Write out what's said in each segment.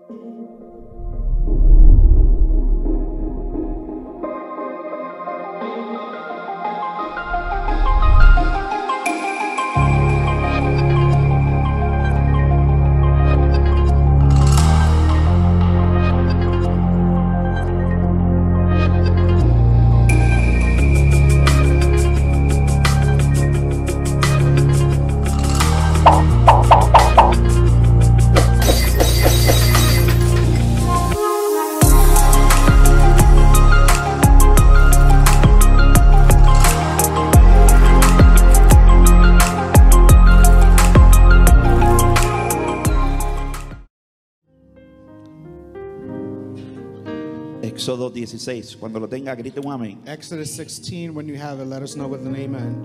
Éxodo 16, cuando lo tenga, grite un amén. Exodus 16, when you have it, let us know with an amen.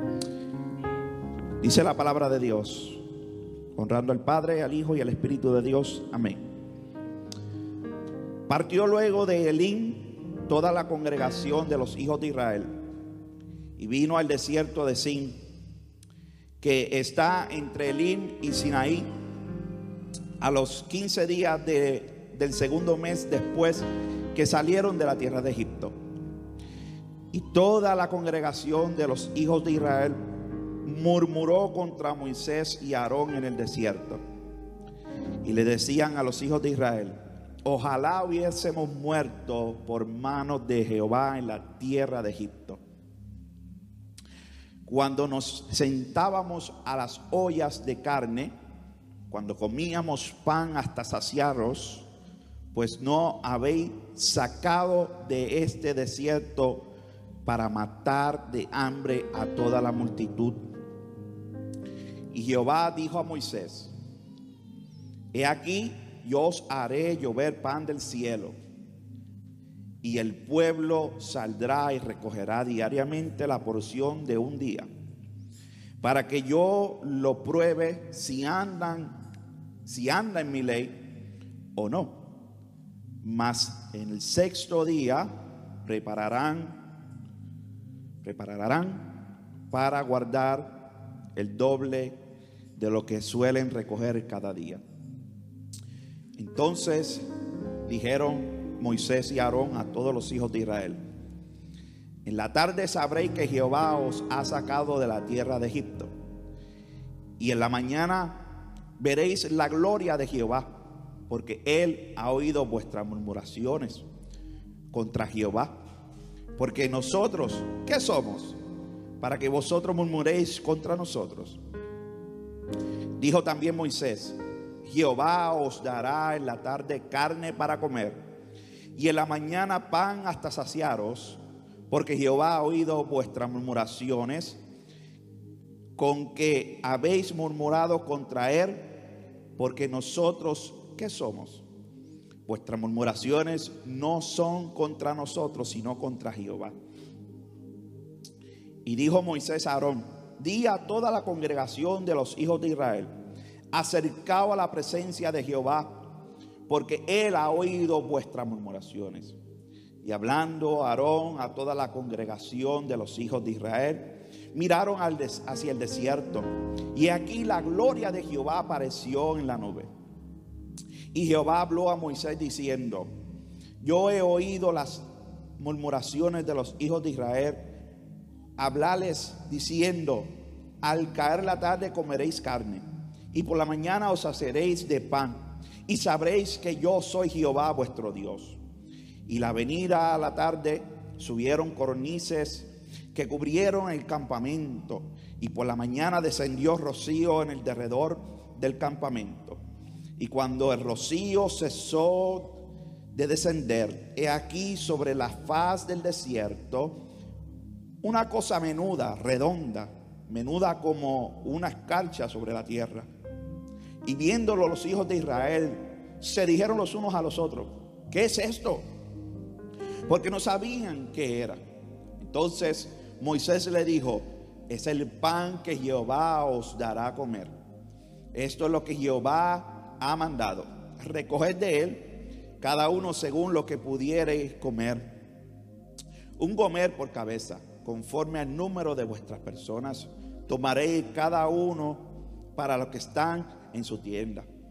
Dice la palabra de Dios, honrando al Padre, al Hijo y al Espíritu de Dios. Amén. Partió luego de Elín toda la congregación de los hijos de Israel y vino al desierto de Sin, que está entre Elín y Sinaí, a los 15 días del segundo mes después que salieron de la tierra de Egipto. Y toda la congregación de los hijos de Israel murmuró contra Moisés y Aarón en el desierto. Y le decían a los hijos de Israel: ojalá hubiésemos muerto por manos de Jehová en la tierra de Egipto, cuando nos sentábamos a las ollas de carne, cuando comíamos pan hasta saciarnos, pues no habéis sacado de este desierto para matar de hambre a toda la multitud. Y Jehová dijo a Moisés: he aquí, yo os haré llover pan del cielo, y el pueblo saldrá y recogerá diariamente la porción de un día, para que yo lo pruebe si anda en mi ley o no. Mas en el sexto día prepararán para guardar el doble de lo que suelen recoger cada día. Entonces dijeron Moisés y Aarón a todos los hijos de Israel: en la tarde sabréis que Jehová os ha sacado de la tierra de Egipto, y en la mañana veréis la gloria de Jehová, porque él ha oído vuestras murmuraciones contra Jehová. Porque nosotros, ¿qué somos para que vosotros murmuréis contra nosotros? Dijo también Moisés: Jehová os dará en la tarde carne para comer, y en la mañana pan hasta saciaros, porque Jehová ha oído vuestras murmuraciones con que habéis murmurado contra él. Porque nosotros, ¿qué somos? Vuestras murmuraciones no son contra nosotros, sino contra Jehová. Y dijo Moisés a Aarón: di a toda la congregación de los hijos de Israel: acercaos a la presencia de Jehová, porque él ha oído vuestras murmuraciones. Y hablando Aarón a toda la congregación de los hijos de Israel, miraron hacia el desierto, y aquí la gloria de Jehová apareció en la nube. Y Jehová habló a Moisés diciendo: yo he oído las murmuraciones de los hijos de Israel. Hablales diciendo: al caer la tarde comeréis carne, y por la mañana os saciaréis de pan, y sabréis que yo soy Jehová vuestro Dios. Y la venida a la tarde subieron codornices que cubrieron el campamento, y por la mañana descendió rocío en el derredor del campamento. Y cuando el rocío cesó de descender, he aquí sobre la faz del desierto una cosa menuda, redonda, menuda como una escarcha sobre la tierra. Y viéndolo los hijos de Israel, se dijeron los unos a los otros: ¿qué es esto? Porque no sabían qué era. Entonces Moisés le dijo: es el pan que Jehová os dará a comer. Esto es lo que Jehová ha mandado: recoged de él cada uno según lo que pudiereis comer, un gomer por cabeza, conforme al número de vuestras personas. Tomaréis cada uno para los que están en su tienda.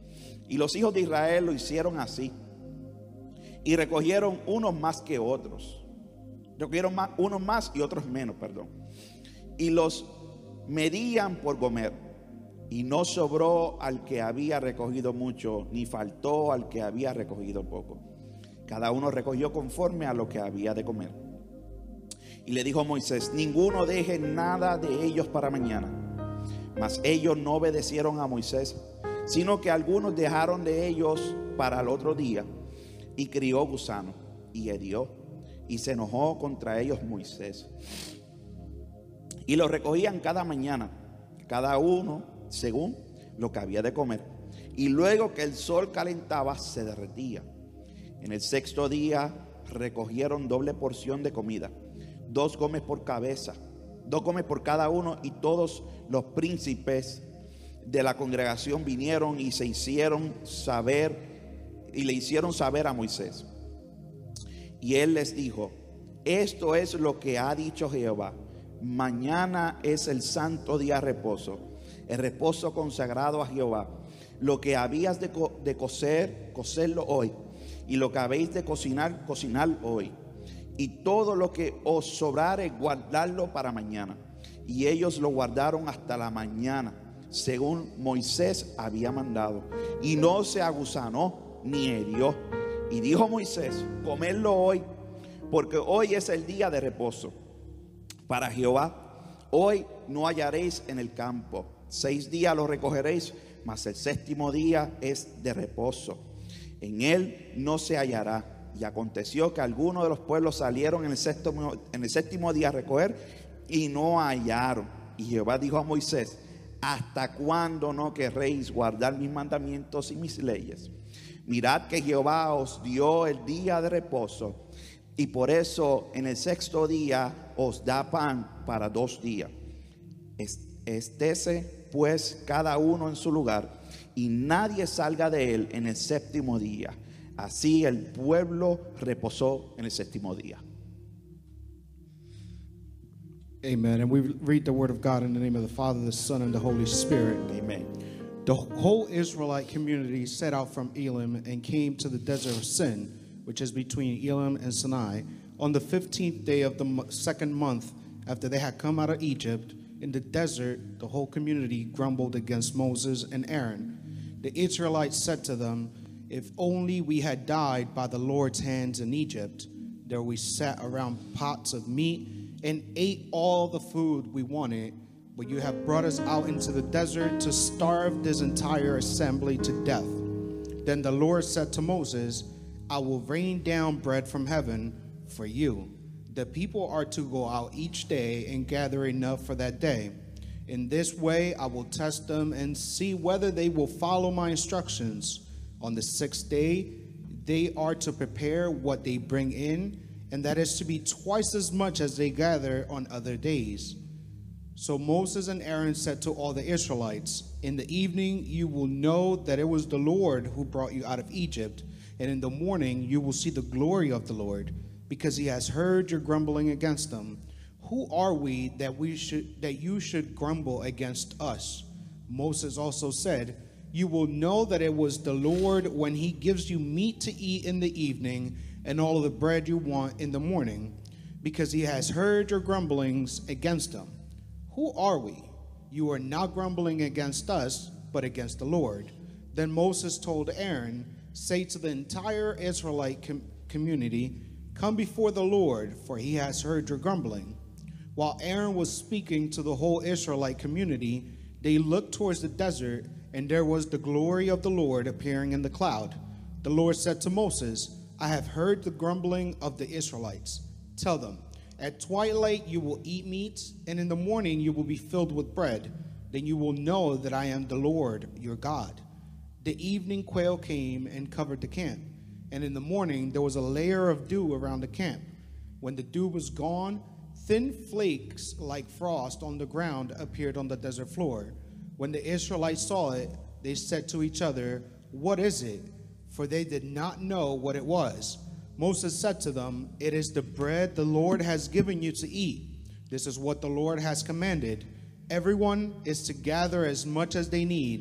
Y los hijos de Israel lo hicieron así. Y recogieron unos más que otros. Recogieron unos más y otros menos, perdón. Y los medían por gomer. Y no sobró al que había recogido mucho, ni faltó al que había recogido poco. Cada uno recogió conforme a lo que había de comer. Y le dijo Moisés: ninguno deje nada de ellos para mañana. Mas ellos no obedecieron a Moisés, sino que algunos dejaron de ellos para el otro día. Y crió gusano y hirió, y se enojó contra ellos Moisés. Y los recogían cada mañana, cada uno según lo que había de comer. Y luego que el sol calentaba, se derretía. En el sexto día recogieron doble porción de comida, 2 gomes por cabeza, 2 gomes por cada uno. Y todos los príncipes de la congregación vinieron y le hicieron saber a Moisés. Y él les dijo: esto es lo que ha dicho Jehová: mañana es el santo día de reposo, el reposo consagrado a Jehová. Lo que habías de cocer, cocerlo hoy, y lo que habéis de cocinar, cocinarlo hoy. Y todo lo que os sobrare, guardarlo para mañana. Y ellos lo guardaron hasta la mañana, según Moisés había mandado. Y no se agusanó ni hirió. Y dijo Moisés: comedlo hoy, porque hoy es el día de reposo para Jehová. Hoy no hallaréis en el campo. 6 días lo recogeréis, mas el séptimo día es de reposo. En él no se hallará. Y aconteció que algunos de los pueblos salieron en el séptimo día a recoger y no hallaron. Y Jehová dijo a Moisés: ¿hasta cuándo no querréis guardar mis mandamientos y mis leyes? Mirad que Jehová os dio el día de reposo, y por eso en el sexto día os da pan para 2 días. Estése pues cada uno en su lugar, y nadie salga de él en el séptimo día. Así el pueblo reposó en el séptimo día. Amen. And we read the word of God in the name of the Father, the Son, and the Holy Spirit. Amen. The whole Israelite community set out from Elim and came to the desert of Sin, which is between Elim and Sinai, on the 15th day of the second month after they had come out of Egypt. In the desert, the whole community grumbled against Moses and Aaron. The Israelites said to them: if only we had died by the Lord's hands in Egypt. There we sat around pots of meat and ate all the food we wanted. But you have brought us out into the desert to starve this entire assembly to death. Then the Lord said to Moses: I will rain down bread from heaven for you. The people are to go out each day and gather enough for that day. In this way I will test them and see whether they will follow my instructions. On the 6th day they are to prepare what they bring in, and that is to be twice as much as they gather on other days. So Moses and Aaron said to all the Israelites: in the evening you will know that it was the Lord who brought you out of Egypt, and in the morning you will see the glory of the Lord, because he has heard your grumbling against them. Who are we that you should grumble against us? Moses also said: you will know that it was the Lord when he gives you meat to eat in the evening and all of the bread you want in the morning, because he has heard your grumblings against him. Who are we? You are not grumbling against us, but against the Lord. Then Moses told Aaron: say to the entire Israelite community, come before the Lord, for he has heard your grumbling. While Aaron was speaking to the whole Israelite community, they looked towards the desert, and there was the glory of the Lord appearing in the cloud. The Lord said to Moses: I have heard the grumbling of the Israelites. Tell them, at twilight you will eat meat, and in the morning you will be filled with bread. Then you will know that I am the Lord your God. The evening quail came and covered the camp, and in the morning there was a layer of dew around the camp. When the dew was gone, thin flakes like frost on the ground appeared on the desert floor. When the Israelites saw it, they said to each other, what is it? For they did not know what it was. Moses said to them, it is the bread the Lord has given you to eat. This is what the Lord has commanded. Everyone is to gather as much as they need,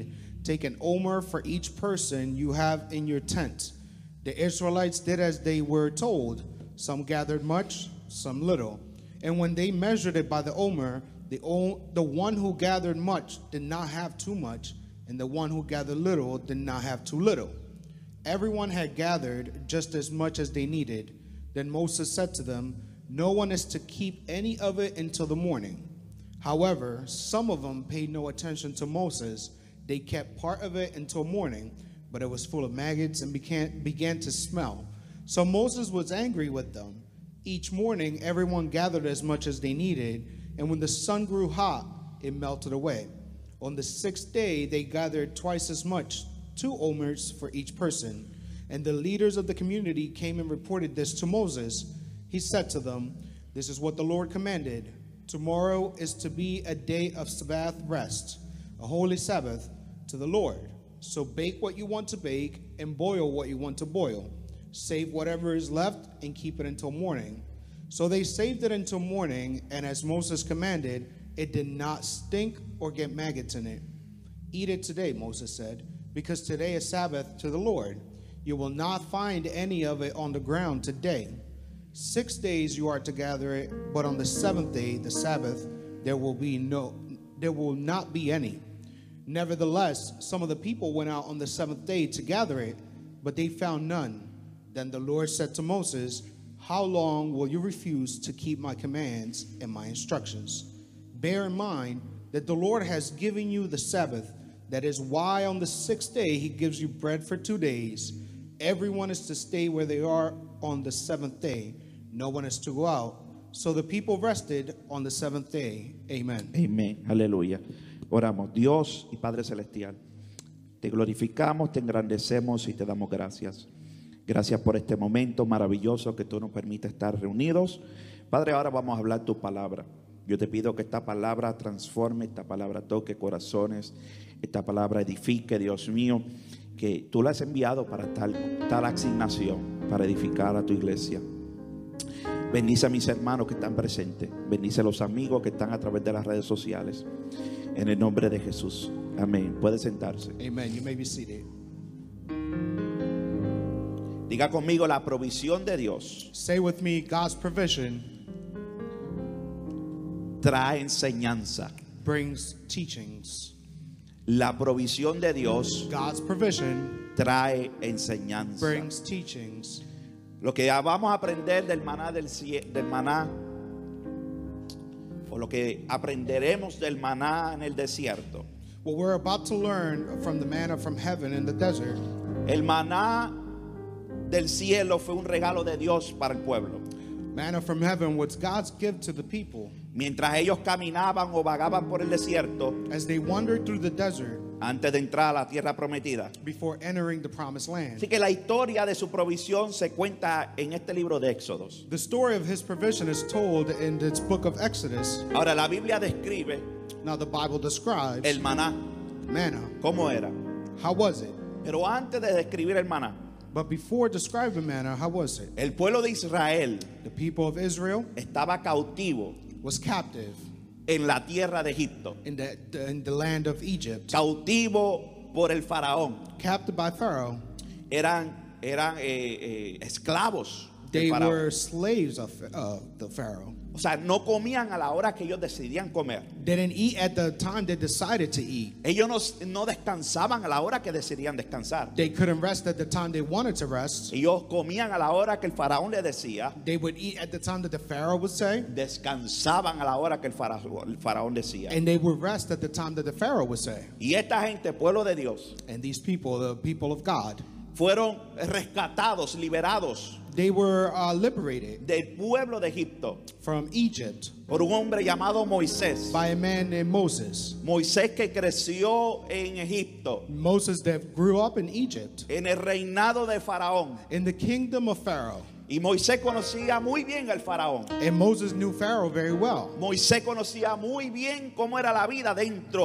Take an omer for each person you have in your tent. The Israelites did as they were told. Some gathered much, some little. And when they measured it by the omer, the one who gathered much did not have too much, and the one who gathered little did not have too little. Everyone had gathered just as much as they needed. Then Moses said to them, "No one is to keep any of it until the morning." However, some of them paid no attention to Moses. They kept part of it until morning, but it was full of maggots and began to smell. So Moses was angry with them. Each morning, everyone gathered as much as they needed, and when the sun grew hot, it melted away. On the 6th day, they gathered twice as much, 2 omers for each person. And the leaders of the community came and reported this to Moses. He said to them, "This is what the Lord commanded. Tomorrow is to be a day of Sabbath rest, a holy Sabbath to the Lord. So bake what you want to bake and boil what you want to boil. Save whatever is left and keep it until morning." So they saved it until morning, and as Moses commanded, it did not stink or get maggots in it. "Eat it today," Moses said, "because today is Sabbath to the Lord. You will not find any of it on the ground today. 6 days you are to gather it, but on the 7th day, the Sabbath, there will not be any." Nevertheless, some of the people went out on the 7th day to gather it, but they found none. Then the Lord said to Moses, "How long will you refuse to keep my commands and my instructions? Bear in mind that the Lord has given you the Sabbath. That is why on the 6th day he gives you bread for 2 days. Everyone is to stay where they are on the 7th day. No one is to go out." So the people rested on the 7th day. Amen. Amén, aleluya. Oramos. Dios y Padre Celestial, te glorificamos, te engrandecemos y te damos gracias. Gracias por este momento maravilloso que tú nos permites estar reunidos. Padre, ahora vamos a hablar tu palabra. Yo te pido que esta palabra transforme, esta palabra toque corazones, esta palabra edifique, Dios mío, que tú la has enviado para tal asignación, para edificar a tu iglesia. Bendice a mis hermanos que están presentes. Bendice a los amigos que están a través de las redes sociales. En el nombre de Jesús. Amén. Puede sentarse. Amen. You may be seated. Diga conmigo: la provisión de Dios Say with me, God's provision trae enseñanza. brings teachings. La provisión de Dios God's provision trae enseñanza. brings teachings. Lo que vamos a aprender del maná o lo que aprenderemos del maná en el desierto. What we're about to learn from the manna from heaven in the desert, El maná del cielo fue un regalo de Dios para el pueblo. manna from heaven was God's gift to the people. Mientras ellos caminaban o vagaban por el desierto As they wandered through the desert antes de entrar a la tierra prometida. before entering the promised land. Así que la historia de su provisión se cuenta en este libro de Éxodos. The story of his provision is told in this book of Exodus. Ahora la Biblia describe Now the Bible describes el maná, manna. cómo era. How was it? Pero antes de describir el maná, But before describing manna, how was it? el pueblo de Israel The people of Israel estaba cautivo was captive en la tierra de Egipto, in the land of Egypt, cautivo por el faraón. captive by Pharaoh. Eran esclavos del They faraón. were slaves of the Pharaoh. O sea, no comían a la hora que ellos decidían comer. They didn't eat at the time they decided to eat. Ellos no descansaban a la hora que decidían descansar. They couldn't rest at the time they wanted to rest. Ellos comían a la hora que el faraón les decía. They would eat at the time that the Pharaoh would say. Descansaban a la hora que el faraón decía. And they would rest at the time that the Pharaoh would say. Y esta gente, pueblo de Dios, And these people, the people of God, fueron rescatados, liberados they were liberated del pueblo de Egipto from Egypt por un hombre llamado Moisés. by a man named Moses. Moisés que creció en Egipto, Moses that grew up in Egypt, en el reinado de Faraón. in the kingdom of Pharaoh. Y Moisés conocía muy bien al faraón. And Moses knew Pharaoh very well. Moisés conocía muy bien cómo era la vida dentro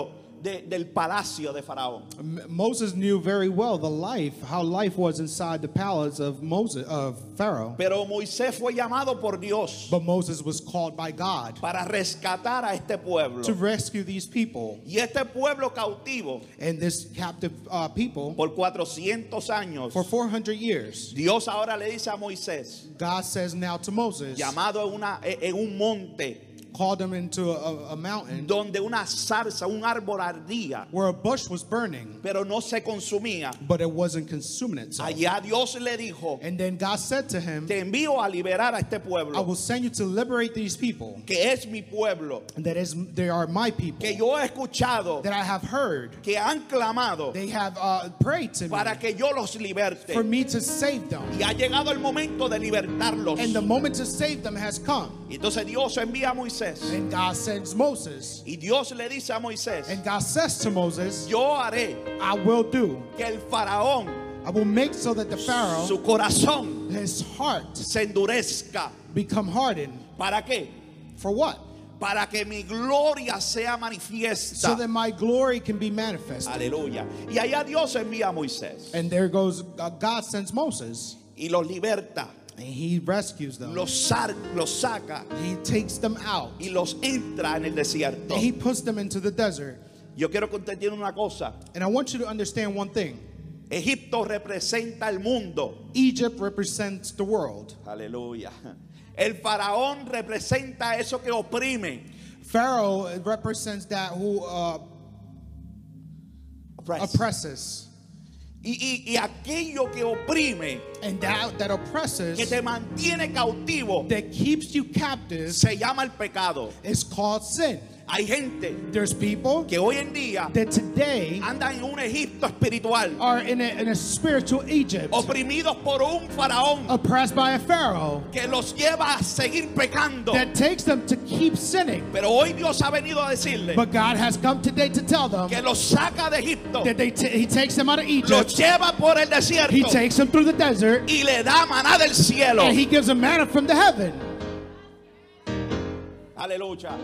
del palacio de Faraón. Moses knew very well how life was inside the palace of Pharaoh. Pero Moisés fue llamado por Dios But Moses was called by God para rescatar a este pueblo. to rescue these people. Y este pueblo cautivo And this captive people, por 400 años, for 400 years, Dios ahora le dice a Moisés, God says now to Moses, llamado en un monte called him into a mountain donde una zarza, un árbol ardía, where a bush was burning, pero no se consumía. but it wasn't consuming itself. Allá Dios le dijo, And then God said to him, te envío a liberar a este I pueblo, will send you to liberate these people, que es mi pueblo, they are my people, que yo he escuchado, that I have heard. que han clamado They have prayed to me para que yo los liberte. for me to save them. Y ha llegado el momento de libertarlos. And the moment to save them has come. Y entonces Dios envía a Moisés. And God sends Moses. Y Dios le dice a Moisés, And God says to Moses, yo haré I will do. que el faraón, I will make so that the Pharaoh, su corazón his heart, se endurezca. become hardened. ¿Para qué? For what? Para que mi gloria sea manifiesta. So that my glory can be manifested. Aleluya. Y allá Dios envía a Moisés And there goes, God sends Moses. y los liberta, And he rescues them. los saca He takes them out. y los entra en el desierto. And he puts them into the desert. Yo quiero que usted entienda una cosa. And I want you to understand one thing. Egipto representa el mundo. Egypt represents the world. Aleluya. El faraón representa eso que oprime. Pharaoh represents that who oppresses. Y aquello que oprime, And that oppresses, que te mantiene cautivo, that keeps you captive, se llama el pecado. is called sin. Hay gente There's people que hoy en día that today andan en un Egipto espiritual, are in a spiritual Egypt, oprimidos por un faraón oppressed by a Pharaoh que los lleva a seguir pecando. that takes them to keep sinning. Pero hoy Dios ha venido a decirle But God has come today to tell them que los saca de Egipto, that He takes them out of los Egypt, lleva por el desierto He takes them through the desert, y le da maná del cielo. and He gives them manna from the heaven. Aleluya.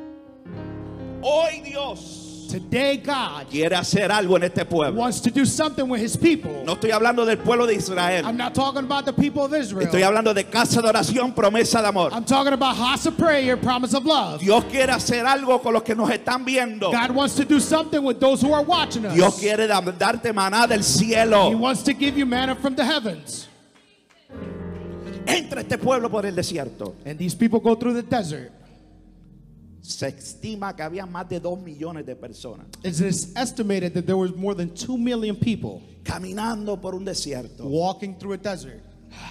Hoy Dios Today God quiere hacer algo en este pueblo. wants to do something with His people. No estoy hablando del pueblo de Israel. I'm not talking about the people of Israel. Estoy hablando de casa de oración, promesa de amor. I'm talking about house of prayer, promise of love. Dios quiere hacer algo con los que nos están viendo. God wants to do something with those who are watching us. Dios quiere darte maná del He cielo. wants to give you manna from the heavens. Entra este pueblo por el desierto. And these people go through the desert. Se estima que había más de 2 millones de personas It is estimated that there was more than 2 million people caminando por un desierto. walking through a desert.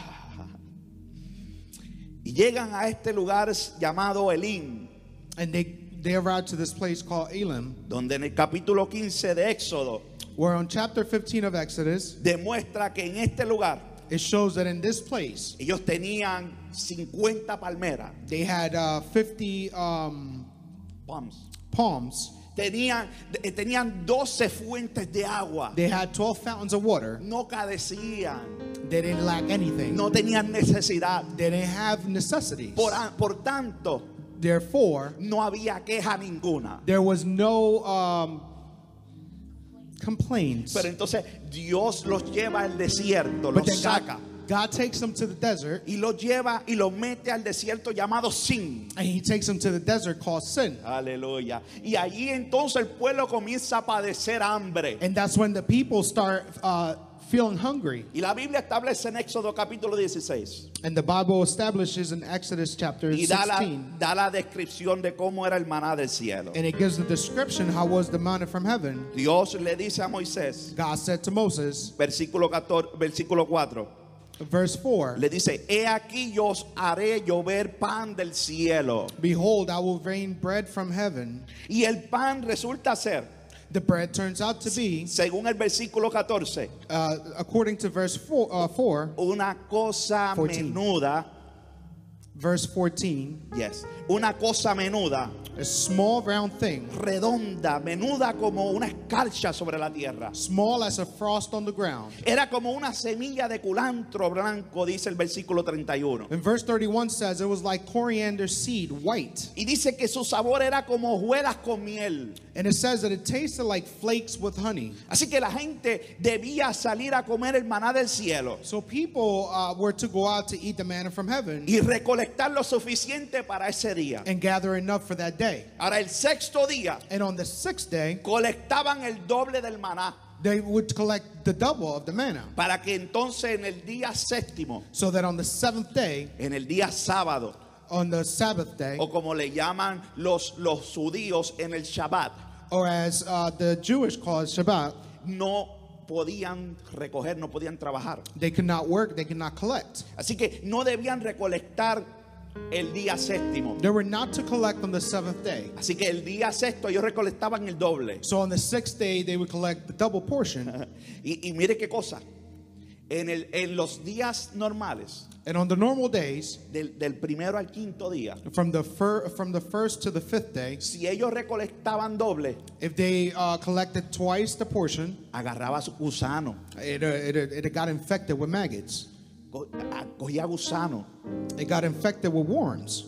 Y llegan a este lugar llamado Elim, And they arrived to this place called Elim, donde en el capítulo 15 de Éxodo where on chapter 15 of Exodus, demuestra que en este lugar it shows that in this place, ellos tenían 50 palmeras, they had 50 palms. palms. Tenían 12 fuentes de agua. They had 12 fountains of water. No carecían, They didn't lack anything. no tenían necesidad. They didn't have necessities. Por tanto, Therefore, no había queja ninguna. there was no complaints. Pero entonces Dios los lleva al desierto, But los then saca God takes them to the desert, y los lleva y los mete al desierto llamado Sin. and He takes them to the desert called Sin. Aleluya. Y allí entonces el pueblo comienza a padecer hambre. And that's when the people start feeling hungry. Y la Biblia establece en Éxodo capítulo 16 And the Bible establishes in Exodus chapter y 16, da la descripción de cómo era el maná del cielo. and it gives the description how was the manna from heaven. Dios le dice a Moisés, God said to Moses, versículo 4, verse 4, le dice, he aquí yo os haré llover pan del cielo. behold, I will rain bread from heaven. Y el pan resulta ser, The bread turns out to be, según el versículo 14, according to verse 4, una cosa 14. menuda verse 14, Yes. Una cosa menuda, a small round thing, redonda, menuda como una escarcha sobre la tierra. small as a frost on the ground. Era como una semilla de culantro blanco, dice el versículo 31. And verse 31 says it was like coriander seed, white. Y dice que su sabor era como hojuelas con miel. And it says that it tasted like flakes with honey. Así que la gente debía salir a comer el maná del cielo So people were to go out to eat the manna from heaven y recolectar lo suficiente para ese día. and gather enough for that day. Ahora, el sexto día And on the sixth day, colectaban el doble del maná, they would collect the double of the manna. para que entonces en el día séptimo, So that on the seventh day, en el día sábado, on the Sabbath day, o como le llaman los judíos en el Shabbat, or as the Jewish call it Shabbat, no podían recoger, no podían trabajar. they could not work, they could not collect. Así que no debían recolectar el día séptimo. They were not to collect on the seventh day. Así que el día sexto ellos recolectaban el doble. So on the sixth day, they would collect the double portion. Y mire qué cosa. En los días normales, And on the normal days, del primero al quinto día, from the first to the fifth day, si ellos recolectaban doble, if they collected twice the portion, agarraba su gusano, it got infected with maggots. cogía gusano. It got infected with worms.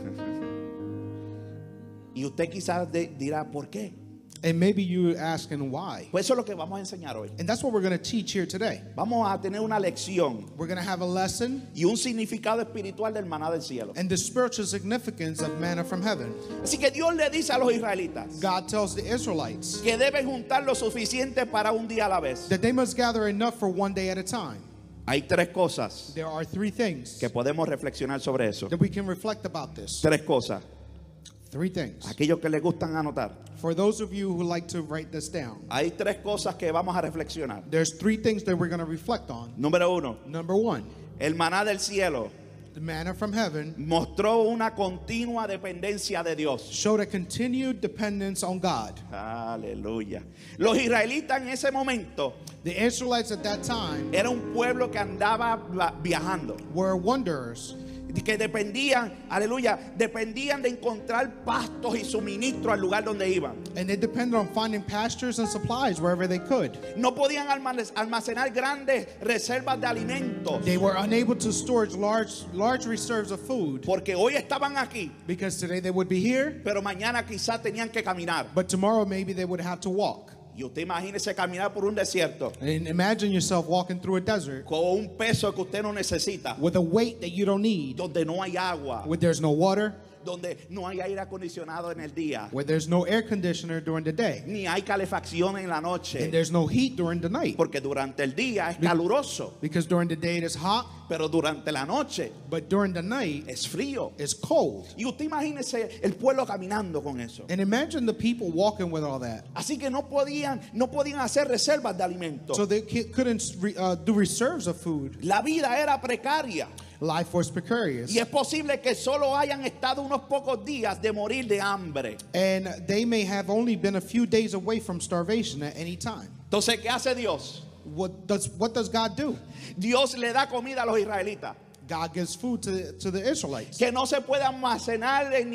Y usted quizás dirá, ¿por qué? And maybe you're asking why. Pues eso es lo que vamos a enseñar hoy. And that's what we're going to teach here today. Vamos a tener una lección We're going to have a lesson y un significado espiritual del maná del cielo. and the spiritual significance of manna from heaven. Así que Dios le dice a los israelitas God tells the Israelites que deben juntar lo suficiente para un día a la vez. that they must gather enough for one day at a time. Hay tres cosas There are three things que podemos reflexionar sobre eso. that we can reflect about this. Tres cosas. Three things. Aquellos que les gustan anotar. For those of you who like to write this down, Hay tres cosas que vamos a reflexionar. there's three things that we're going to reflect on. Número uno, Number one, el maná del cielo the manna from heaven mostró una continua dependencia de Dios. showed a continued dependence on God. Aleluya. Los israelitas en ese momento The Israelites at that time era un pueblo que andaba viajando, were wanderers. que dependían, aleluya, dependían de encontrar pastos y suministro al lugar donde iban. And they depended on finding pastures and supplies wherever they could. No podían almacenar grandes reservas de alimentos, They were unable to store large reserves of food porque hoy estaban aquí, because today they would be here, pero mañana quizás tenían que caminar. but tomorrow maybe they would have to walk. Y usted imagínese caminar por un desierto And imagine yourself walking through a desert con un peso que usted no necesita, with a weight that you don't need, donde no hay agua, where there's no water, donde no hay aire acondicionado en el día, where there's no air conditioner during the day, ni hay calefacción en la and noche, there's no heat during the night. porque durante el día es caluroso, Because during the day it is hot, pero durante la noche but during the night es frío. it's cold. Y usted imagínese el pueblo caminando con eso. And imagine the people walking with all that. Así que no podían hacer reservas de alimentos. So they couldn't do reserves of food. La vida era precaria. Life was precarious. Y es posible que solo hayan estado unos pocos días de morir de hambre. And they may have only been a few days away from starvation at any time. Entonces, ¿qué hace Dios? What does God do? Dios le da comida a los israelitas God gives food to the Israelites. que no se puede almacenar en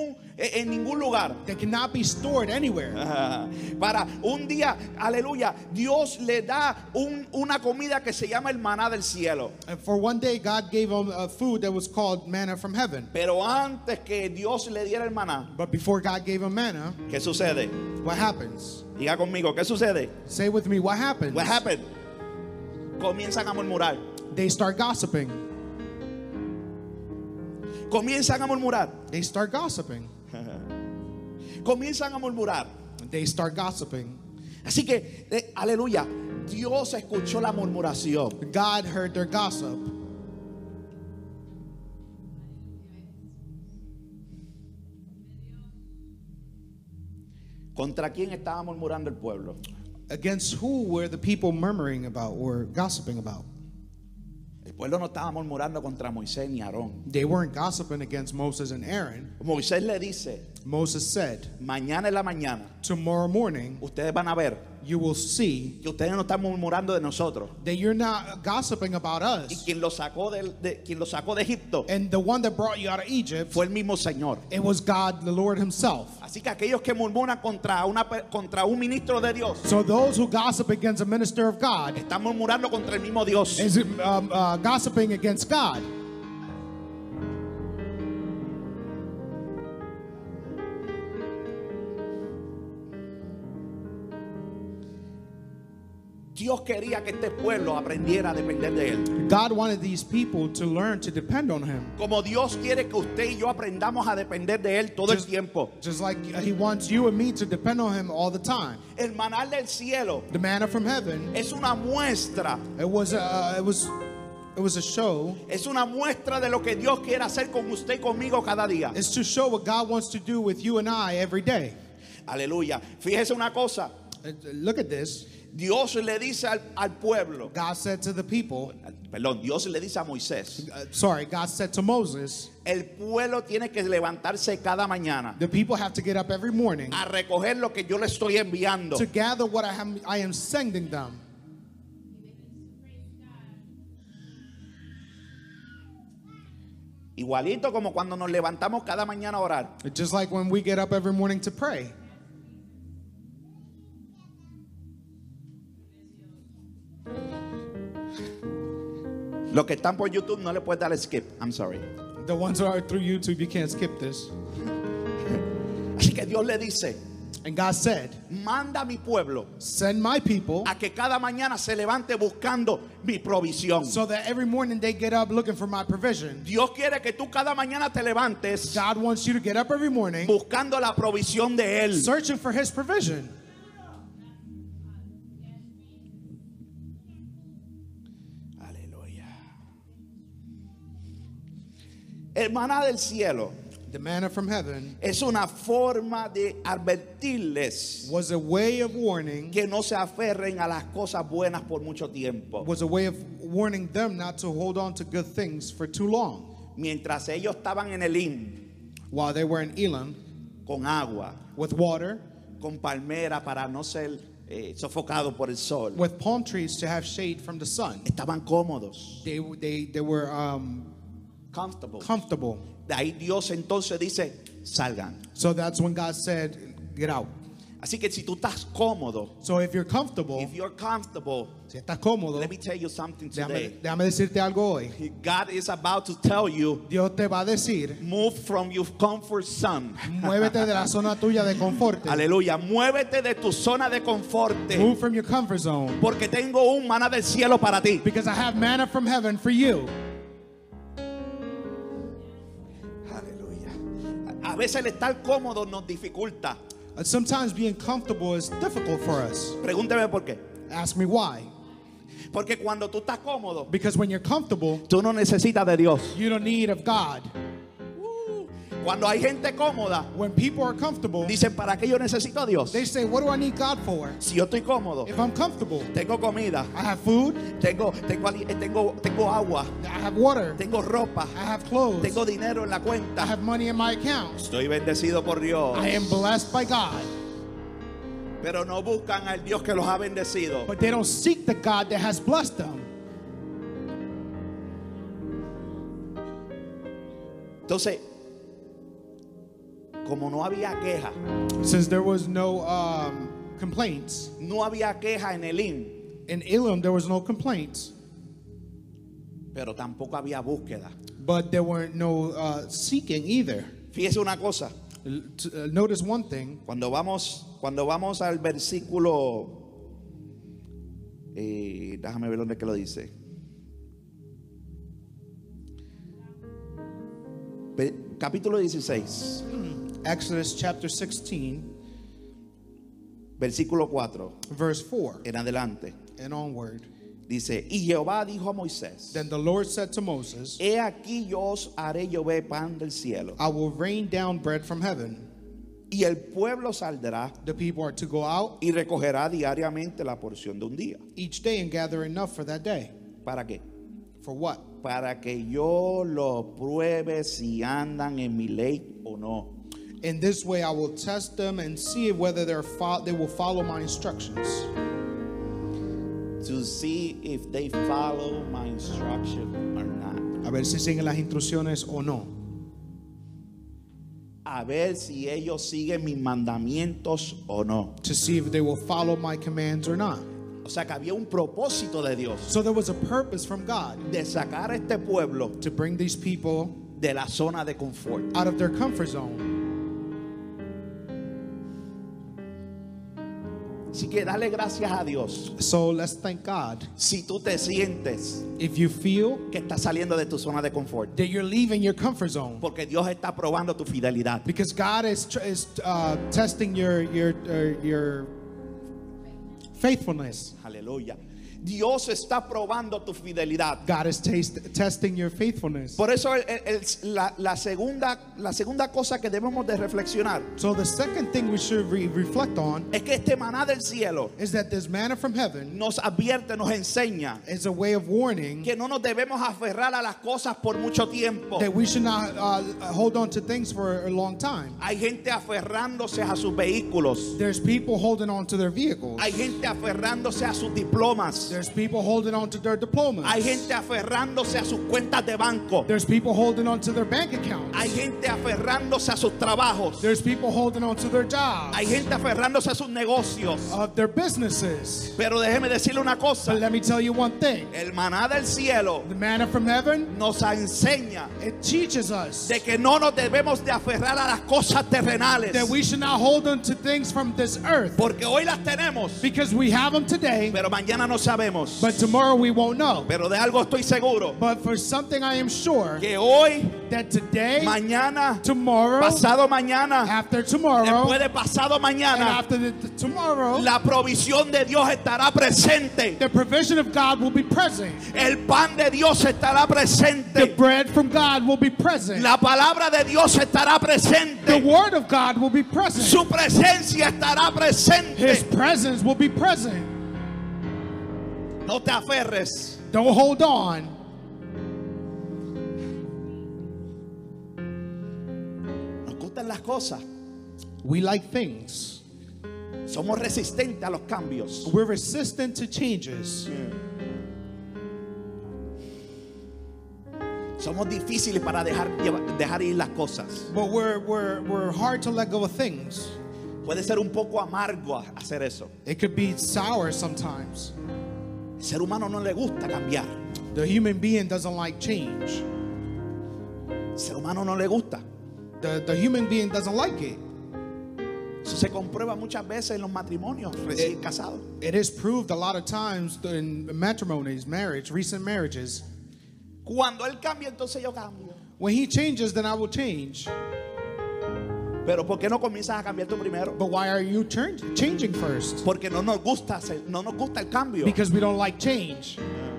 ningún lugar. They cannot be stored anywhere. Para un día, aleluya, Dios le da una comida que se llama el maná del cielo. And for one day, God gave them a food that was called manna from heaven. Pero antes que Dios le diera el maná, But before God gave them manna, ¿qué sucede? what happens? Diga conmigo, ¿qué sucede? Say with me, what happens? What happened? Comienzan a murmurar. They start gossiping. Comienzan a murmurar. They start gossiping. Comienzan a murmurar. They start gossiping. Así que, aleluya, Dios escuchó la murmuración. God heard their gossip. ¿Contra quién estaba murmurando el pueblo? Against who were the people murmuring about or gossiping about? El pueblo no estaba murmurando contra Moisés ni Aarón. They weren't gossiping against Moses and Aaron. Moisés le dice, Moses said, mañana en la mañana, tomorrow morning ustedes van a ver you will see que ustedes no están murmurando de nosotros. that you're not gossiping about Y us. quien lo sacó quien lo sacó de Egipto And the one that brought you out of Egypt, fue el mismo Señor. it was God, the Lord himself. Así que aquellos que murmuran contra un ministro de Dios So those who gossip against a minister of God están murmurando contra el mismo Dios. is gossiping against God. Dios quería que este pueblo aprendiera a depender de Él. God wanted these people to learn to depend on him. Como Dios quiere que usted y yo aprendamos a depender de Él todo el tiempo. Just like he wants you and me to depend on him all the time. El maná del cielo The manna from heaven, es una muestra. it was a show. Es una muestra de lo que Dios quiere hacer con usted y conmigo cada día. It's to show what God wants to do with you and I every day. Aleluya. Fíjese una cosa. Look at this. Dios le dice al pueblo. God said to the people, Perdón, Dios le dice a Moisés. God said to Moses, El pueblo tiene que levantarse cada mañana the people have to get up every morning a recoger lo que yo le estoy enviando. to gather what I am sending them. Igualito como cuando nos levantamos cada mañana a orar. Just like when we get up every morning to pray. Los que están por YouTube no le puedes dar skip. I'm sorry. The ones who are through YouTube, you can't skip this. Así que Dios le dice, And God said, manda a mi pueblo send my people a que cada mañana se levante buscando mi provisión. so that every morning they get up looking for my provision. Dios quiere que tú cada mañana te levantes God wants you to get up every morning buscando la provisión de Él. searching for his provision. Aleluya. El maná del cielo The manna from heaven es una forma de advertirles was a way of warning, que no se aferren a las cosas buenas por mucho tiempo. was a way of warning them not to hold on to good things for too long. Mientras ellos estaban en Elim While they were in Elim con agua, with water, con palmera para no ser sofocados por el sol, with palm trees to have shade from the sun, estaban cómodos, they were comfortable. comfortable. De ahí Dios entonces dice, salgan. So that's when God said, get out. Así que si tú estás cómodo, So if you're comfortable, if you're comfortable, si estás cómodo, let me tell you something today. déjame decirte algo hoy. God is about to tell you, Dios te va a decir, move from your comfort zone. muévete de la zona tuya de confort. Aleluya, muévete de tu zona de confort. Move from your comfort zone. Porque tengo un maná del cielo para ti. Because I have manna from heaven for you. Aleluya. A veces el estar cómodo nos dificulta. Sometimes being comfortable is difficult for us. Pregúnteme por qué. Ask me why. Porque cuando tú estás cómodo, Because when you're comfortable, tú no necesitas de Dios. you don't need of God. Cuando hay gente cómoda, When people are comfortable, dicen, ¿para qué yo necesito a Dios? they say, what do I need God for? Si yo estoy cómodo, If I'm comfortable, tengo comida, I have food, tengo agua, I have water, tengo ropa, I have clothes, tengo dinero en la I cuenta. have money in my account. Estoy bendecido por Dios. I am blessed by God. Pero no buscan al Dios que los ha bendecido. But they don't seek the God that has blessed them. Entonces, como no había queja, Since there was no complaints, no había queja en Elim, in Elim there was no complaints, pero tampoco había búsqueda. but there weren't no seeking either. Fíjese una cosa, Notice one thing. cuando vamos al versículo, déjame ver dónde es que lo dice. Capítulo 16, Exodus chapter 16, versículo 4 verse 4 en adelante. and onward. Dice, y Jehová dijo a Moisés, Then the Lord said to Moses, he aquí yo os haré llover pan del cielo, I will rain down bread from heaven. y el pueblo saldrá The people are to go out y recogerá diariamente la porción de un día. each day and gather enough for that day. ¿Para qué? For what? Para que yo lo pruebe si andan en mi ley o no. In this way, I will test them and see whether they will follow my instructions. To see if they follow my instruction or not. A ver si siguen las instrucciones o no. A ver si ellos siguen mis mandamientos o no. To see if they will follow my commands or not. O sea que había un propósito de Dios So there was a purpose from God de sacar a este pueblo to bring these people de la zona de confort. out of their comfort zone. Así que dale gracias a Dios So let's thank God. si tú te sientes If you feel que estás saliendo de tu zona de confort, that you're leaving your comfort zone, porque Dios está probando tu fidelidad. because God is testing your faithfulness. Aleluya. Dios está probando tu fidelidad. God is testing your faithfulness. Por eso la segunda cosa que debemos de reflexionar So the second thing we should reflect on es que este maná del cielo is that this manna from heaven nos advierte, nos enseña is a way of warning que no nos debemos aferrar a las cosas por mucho tiempo. that we should not hold on to things for a long time. Hay gente aferrándose a sus vehículos. There's people holding on to their vehicles. Hay gente aferrándose a sus diplomas. There's people holding on to their diplomas. Hay gente aferrándose a sus cuentas de banco. There's people holding on to their bank accounts. Hay gente aferrándose a sus trabajos. There's people holding on to their jobs, Hay gente aferrándose a sus negocios. of their businesses. Pero déjeme decirle una cosa. But let me tell you one thing. El maná del cielo The manna from heaven, nos enseña it teaches us de que no nos debemos de aferrar a las cosas terrenales. that we should not hold on to things from this earth, Porque hoy las tenemos, because we have them today, pero mañana no sabemos. but tomorrow we won't know. Pero de algo estoy seguro, But for something I am sure que hoy, that today, mañana, tomorrow, pasado mañana, after tomorrow, después de pasado and mañana, after the tomorrow, la provisión de Dios estará presente. the provision of God will be present. El pan de Dios estará The presente. bread from God will be present. La palabra de Dios estará The presente. word of God will be present. Su presencia estará His presente. presence will be present. No te aferres. Don't hold on. Nos gustan las cosas. We like things. Somos resistentes a los cambios. We're resistant to changes. Somos difíciles para dejar ir las cosas. But we're hard to let go of things. Puede ser un poco amargo hacer eso. It could be sour sometimes. El ser humano no le gusta cambiar. The human being doesn't like change. El ser humano no le gusta. The human being doesn't like it. Eso se comprueba muchas veces en los matrimonios recién casados. It is proved a lot of times in matrimonies, recent marriages. Cuando él cambia, entonces yo cambio. When he changes, then I will change. Pero ¿por qué no comienzas a cambiar tú primero? But why are you changing first? Porque no nos gusta el cambio. Because we don't like change.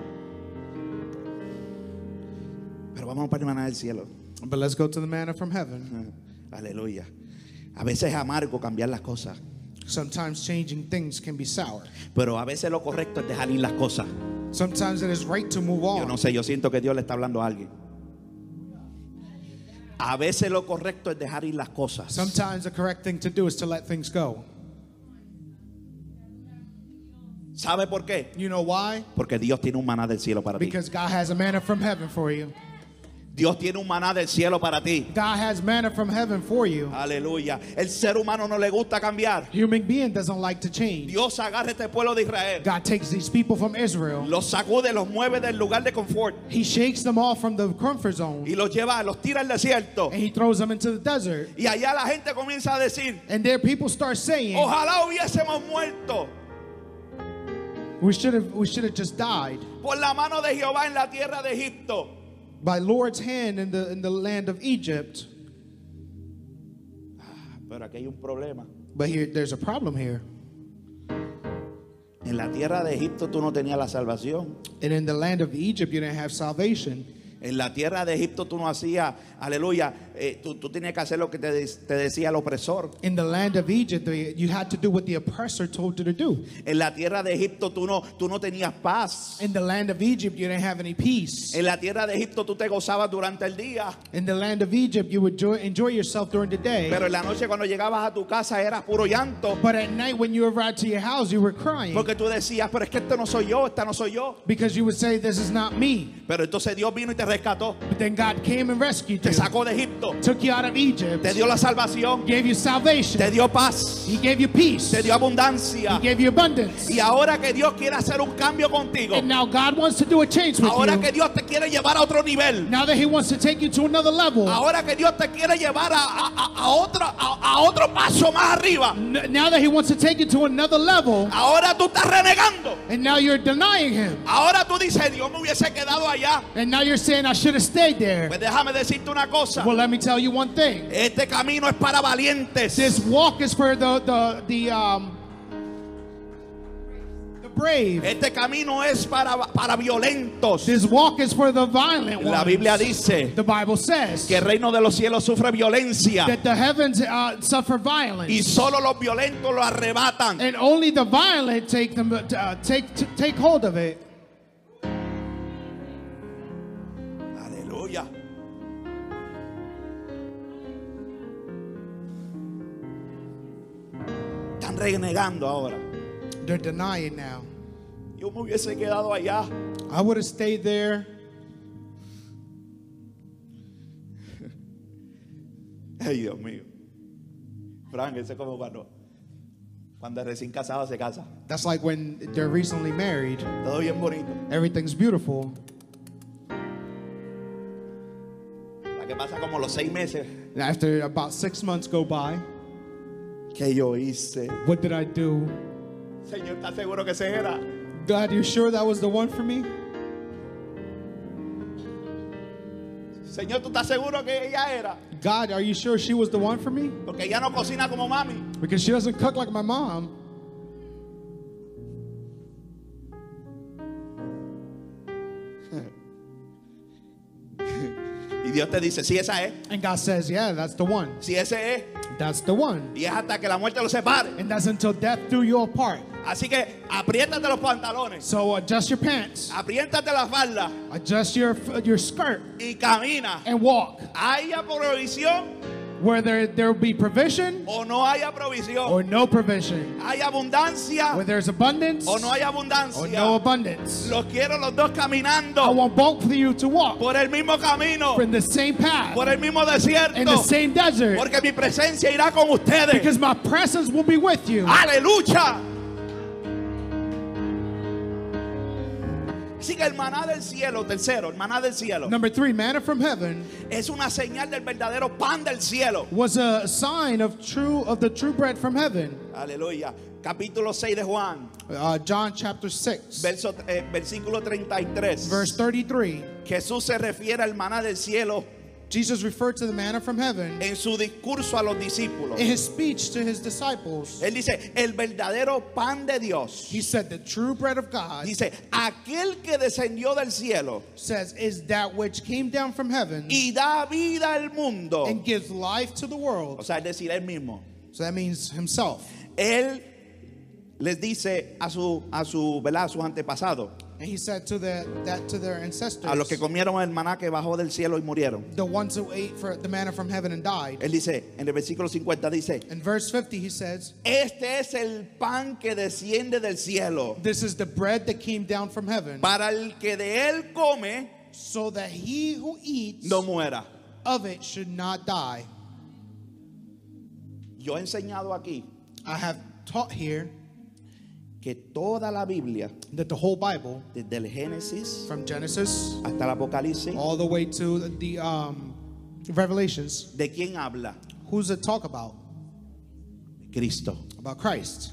Pero vamos para el maná del cielo. But let's go to the manna from heaven. Aleluya. A veces es amargo cambiar las cosas, Sometimes changing things can be sour. pero a veces lo correcto es dejar ir las cosas. Sometimes it is right to move Yo on. no sé, yo siento que Dios le está hablando a alguien. A veces lo correcto es dejar ir las cosas. Sometimes the correct thing to do is to let things go. ¿Sabe por qué? You know why? Porque Dios tiene un maná del cielo para ti. Because God has a manna from heaven for you. Dios tiene un maná del cielo para ti. God has manna from heaven for you. Aleluya. El ser humano no le gusta cambiar. Human being doesn't like to change. Dios agarra este pueblo de Israel, God takes these people from Israel. los sacude, los mueve del lugar de confort He shakes them off from the comfort zone y los lleva, los tira al desierto. and he throws them into the desert. Y allá la gente comienza a decir, And there people start saying, ojalá hubiésemos muerto we should have just died por la mano de Jehová en la tierra de Egipto. by Lord's hand in the land of Egypt. Pero aquí hay un problema. But there's a problem here. En la tierra de Egipto tú no tenías la salvación. And in the land of Egypt, you didn't have salvation. En la tierra de Egipto tú no hacías, aleluya, tú tenías que hacer lo que te decía el opresor. In the land of Egypt, you had to do what the oppressor told you to do. En la tierra de Egipto tú no tenías paz. In the land of Egypt, you didn't have any peace. En la tierra de Egipto tú te gozabas durante el día. In the land of Egypt, you would enjoy yourself during the day. Pero en la noche cuando llegabas a tu casa era puro llanto. But at night when you arrived to your house, you were crying. Porque tú decías, pero es que este no soy yo, esta no soy yo. Because you would say, this is not me. Pero entonces Dios vino y te rescató. But then God came and rescued Te you. sacó de Egipto. Took you out of Egypt. Te dio la salvación. Gave you salvation. Te dio paz. He gave you peace. Te dio abundancia. He gave you abundance. Y ahora que Dios quiere hacer un cambio contigo. And now God wants to do a change with Ahora you. que Dios te quiere llevar a otro nivel. Now that He wants to take you to another level. Ahora que Dios te quiere llevar a otro paso más arriba. Now that He wants to take you to another level. Ahora tú estás renegando. And now you're denying Him. Ahora tú dices, Dios me hubiese quedado allá. And now you're saying, I should have stayed there. Pues déjame decirte una cosa. Well, let me tell you one thing. Este camino es para valientes. This walk is for the brave. Este camino es para violentos. This walk is for the violent La ones. Biblia dice The Bible says que el reino de los cielos sufre violencia that the heavens suffer violence. y solo los violentos lo arrebatan. And only the violent take hold of it. Aleluya. Están renegando ahora. They're denying now. Yo me hubiese quedado allá. I would have stayed there. Ay, Dios mío. Frank, eso es como cuando el recién casado se casa. That's like when they're recently married. Todo bien bonito. Everything's beautiful. La que pasa como los 6 meses. And after about 6 months go by, ¿Qué yo hice? what did I do? Señor, ¿estás seguro que ese era? God, you sure that was the one for me? Señor, ¿tú estás seguro que ella era? God, are you sure she was the one for me? Porque ella no cocina como mami. Because she doesn't cook like my mom. Y Dios te dice, sí, esa es. And God says, yeah, that's the one. Sí, ese es. That's the one. Y es hasta que la muerte los separe. And that's until death do you apart. Así que apriétate los pantalones. So adjust your pants, Apriétate la falda. adjust your skirt, Y camina. and walk. ¿Haya provisión Where there will be provision o no haya provisión? or no provision. ¿Hay abundancia Where there's abundance o no hay or abundancia? no abundance. Los quiero los dos I caminando want both of you to walk por el mismo camino, in the same path, por el mismo in the desierto, same desert. porque mi presencia irá con ustedes. Because my presence will be with you. ¡Aleluya! Así que el maná del cielo, tercero, el maná del cielo, Number 3, manna from heaven es una señal del verdadero pan del cielo. was a sign of the true bread from heaven. Aleluya. Capítulo 6 de Juan, John chapter 6, versículo 33. verse 33. Jesús se refiere al maná del cielo Jesus referred to the manna from heaven en su discurso a los discípulos. in his speech to his disciples. Él dice, el verdadero pan de Dios. He said, the true bread of God, Dice, aquel que descendió del cielo says, is that which came down from heaven y da vida al mundo. and gives life to the O world. sea, es decir, él mismo. So that means himself. Él les dice a sus antepasados, And he said to their ancestors, a los que comieron el maná que bajó del cielo y murieron. the ones who ate for the manna from heaven and died. Él dice, en el versículo 50 dice, In verse 50 he says, este es el pan que desciende del cielo, this is the bread that came down from heaven, para el que de él come so that he who eats no muera. of it should not die. Yo he enseñado aquí I have taught here que toda la Biblia, that the whole Bible, desde el Génesis from Genesis hasta el Apocalipsis, all the way to the Revelations, ¿de quién habla? who's it talk about? Cristo. About Christ.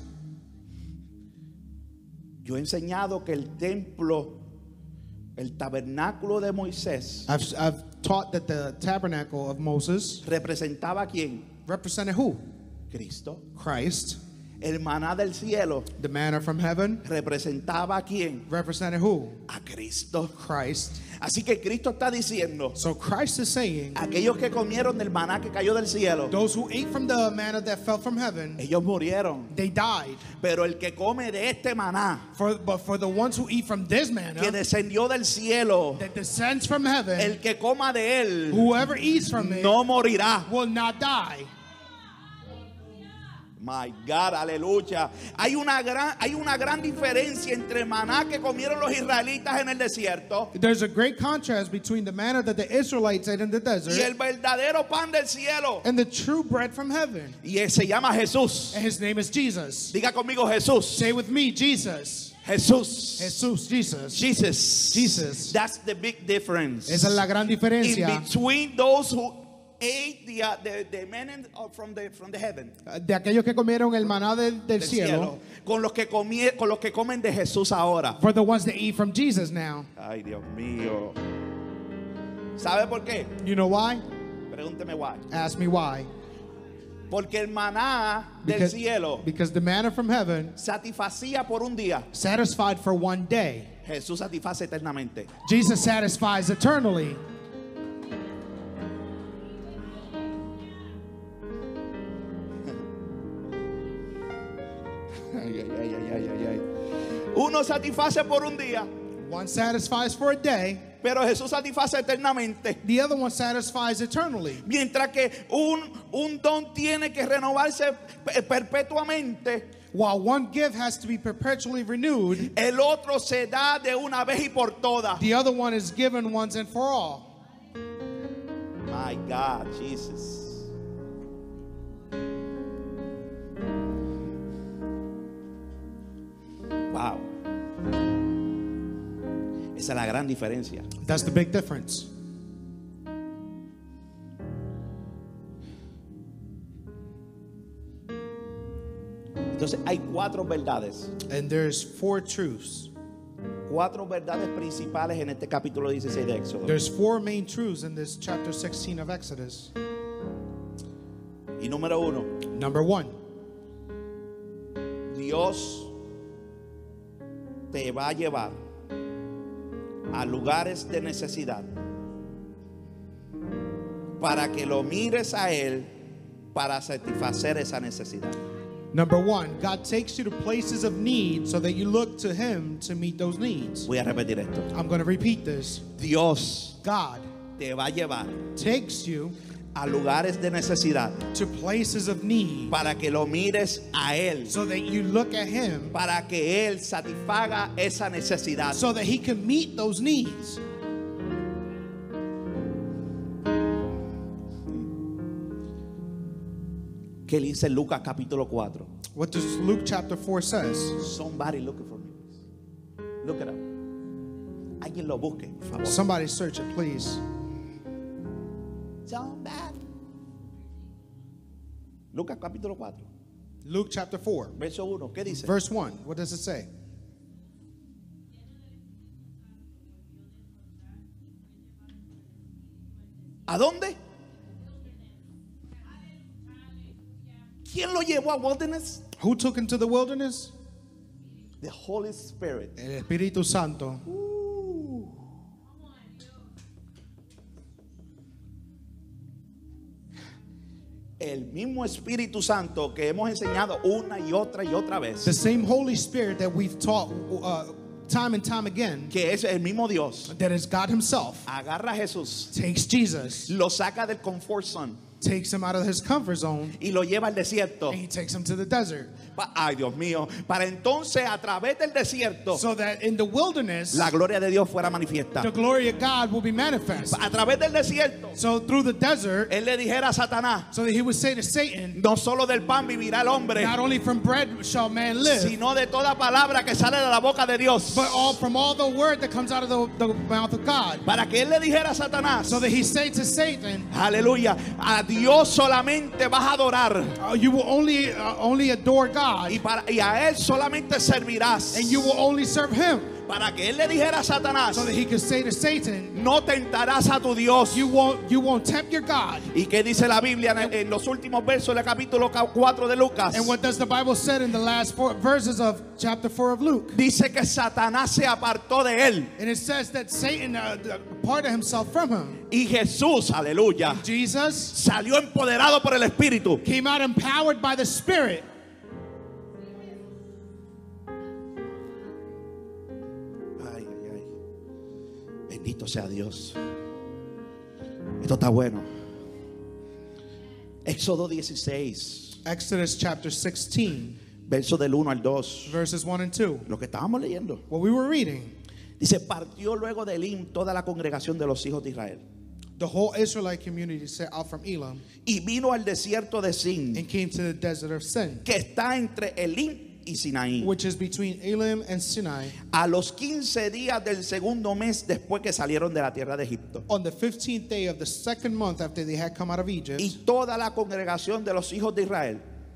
Yo he enseñado que el templo, el tabernáculo de Moisés, I've taught that the tabernacle of Moses representaba a quién? represented who? Cristo. Christ. El maná del cielo The manna from heaven representaba a quién? represented who? A Cristo. Christ. Así que Cristo está diciendo, So Christ is saying, aquellos que comieron del maná que cayó del cielo, those who ate from the manna that fell from heaven, ellos murieron. they died. Pero el que come de este maná But for the ones who eat from this que manna descendió del cielo, that descends from heaven, el que coma de él whoever eats from it no morirá. will not die. My God, aleluya. Hay una gran diferencia entre el maná que comieron los israelitas en el desierto There's a great contrast between the manna that the Israelites ate in the y el desert verdadero pan del cielo. and the true bread from heaven. Y él se llama Jesús. And his name is Jesus. Diga conmigo Jesús. Say with me, Jesus. Jesús. Jesus, Jesus. Jesus. Jesus. That's the big difference. Esa es la gran diferencia. In between those who ate the manna from the heaven, De aquellos que comieron el maná del del cielo, con los que comen de Jesús ahora. for the ones that eat from Jesus now. Ay, Dios mío. ¿Sabe por qué? You know why? Pregúnteme why. Ask me why. Porque el maná del cielo Because the manna from heaven satisfacía por un día. satisfied for one day. Jesús satisface eternamente. Jesus satisfies eternally. Ay, ay, ay, ay, ay, ay. Uno satisface por un día, One satisfies for a day, pero Jesús satisface eternamente. the other one satisfies eternally. Mientras que un don tiene que renovarse perpetuamente, While one gift has to be perpetually renewed, el otro se da de una vez y por todas. the other one is given once and for all. My God, Jesus. Wow. Esa es la gran diferencia. That's the big difference. Entonces hay cuatro verdades. And there's four truths. Cuatro verdades principales en este capítulo 16 de Éxodo. There's four main truths in this chapter 16 of Exodus. Y número uno, Number one, Dios te va a llevar a lugares de necesidad para que lo mires a Él para satisfacer esa necesidad. God takes you to places of need so that you look to Him to meet those needs. Voy a repetir esto. I'm going to repeat this. Dios God te va a llevar takes you a lugares de necesidad to places of need para que lo mires a Él, so that you look at Him para que Él satisfaga esa necesidad. so that He can meet those needs. ¿Qué dice Lucas capítulo 4? What does Luke chapter 4 says? Somebody looking for me. Look it up. Alguien lo busque, por favor. Somebody search it, please. Somebody. Lucas capítulo 4, Luke chapter 4, verso 1. ¿Qué dice? verse 1. What does it say? ¿A dónde? ¿Quién lo llevó a wilderness? Who took him to the wilderness? The Holy Spirit. El Espíritu Santo. El mismo Espíritu Santo que hemos enseñado una y otra vez, The same Holy Spirit that we've taught time and time again, que es el mismo Dios, that is God Himself, agarra a Jesús, takes Jesus, lo saca del comfort zone takes him out of his comfort zone, y lo lleva al desierto. and He takes him to the desert. Ay, Dios mío, para entonces a través del desierto So that in the wilderness, la gloria de Dios fuera manifiesta. the glory of God will be manifest. A través del desierto So through the desert, Él le dijera a Satanás, so that He would say to Satan, no solo del pan vivirá el hombre, not only from bread shall man live, sino de toda palabra que sale de la boca de Dios. but from all the word that comes out of the mouth of God. Para que Él le dijera a Satanás, So that He say to Satan, aleluya, a Dios solamente vas a adorar you will only adore God, y a Él solamente servirás. and you will only serve Him. para que él le dijera a Satanás, so that he could say to Satan, no tentarás a tu Dios. you won't tempt your God. ¿Y qué dice la Biblia en los últimos versos del capítulo 4 de Lucas? And what does the Bible say in the last 4 verses of chapter 4 of Luke? Dice que Satanás se apartó de él. And it says that Satan parted himself from him. Y Jesús, aleluya, Jesus salió empoderado por el Espíritu. came out empowered by the Spirit. Ay, ay, ay. Bendito sea Dios. Esto está bueno. Éxodo 16, Exodus chapter 16, versos del 1 al 2. verses 1 and 2. Lo que estábamos leyendo. What we were reading, Dice, partió luego de Elim toda la congregación de los hijos de Israel. the whole Israelite community set out from Elam Y vino al desierto de Sin, and came to the desert of Sin, que está entre Elim y Sinaí, which is between Elim and Sinai, a los 15 días del segundo mes después que salieron de la tierra de Egipto. on the 15th day of the second month after they had come out of Egypt. Y toda la congregación de los hijos de Israel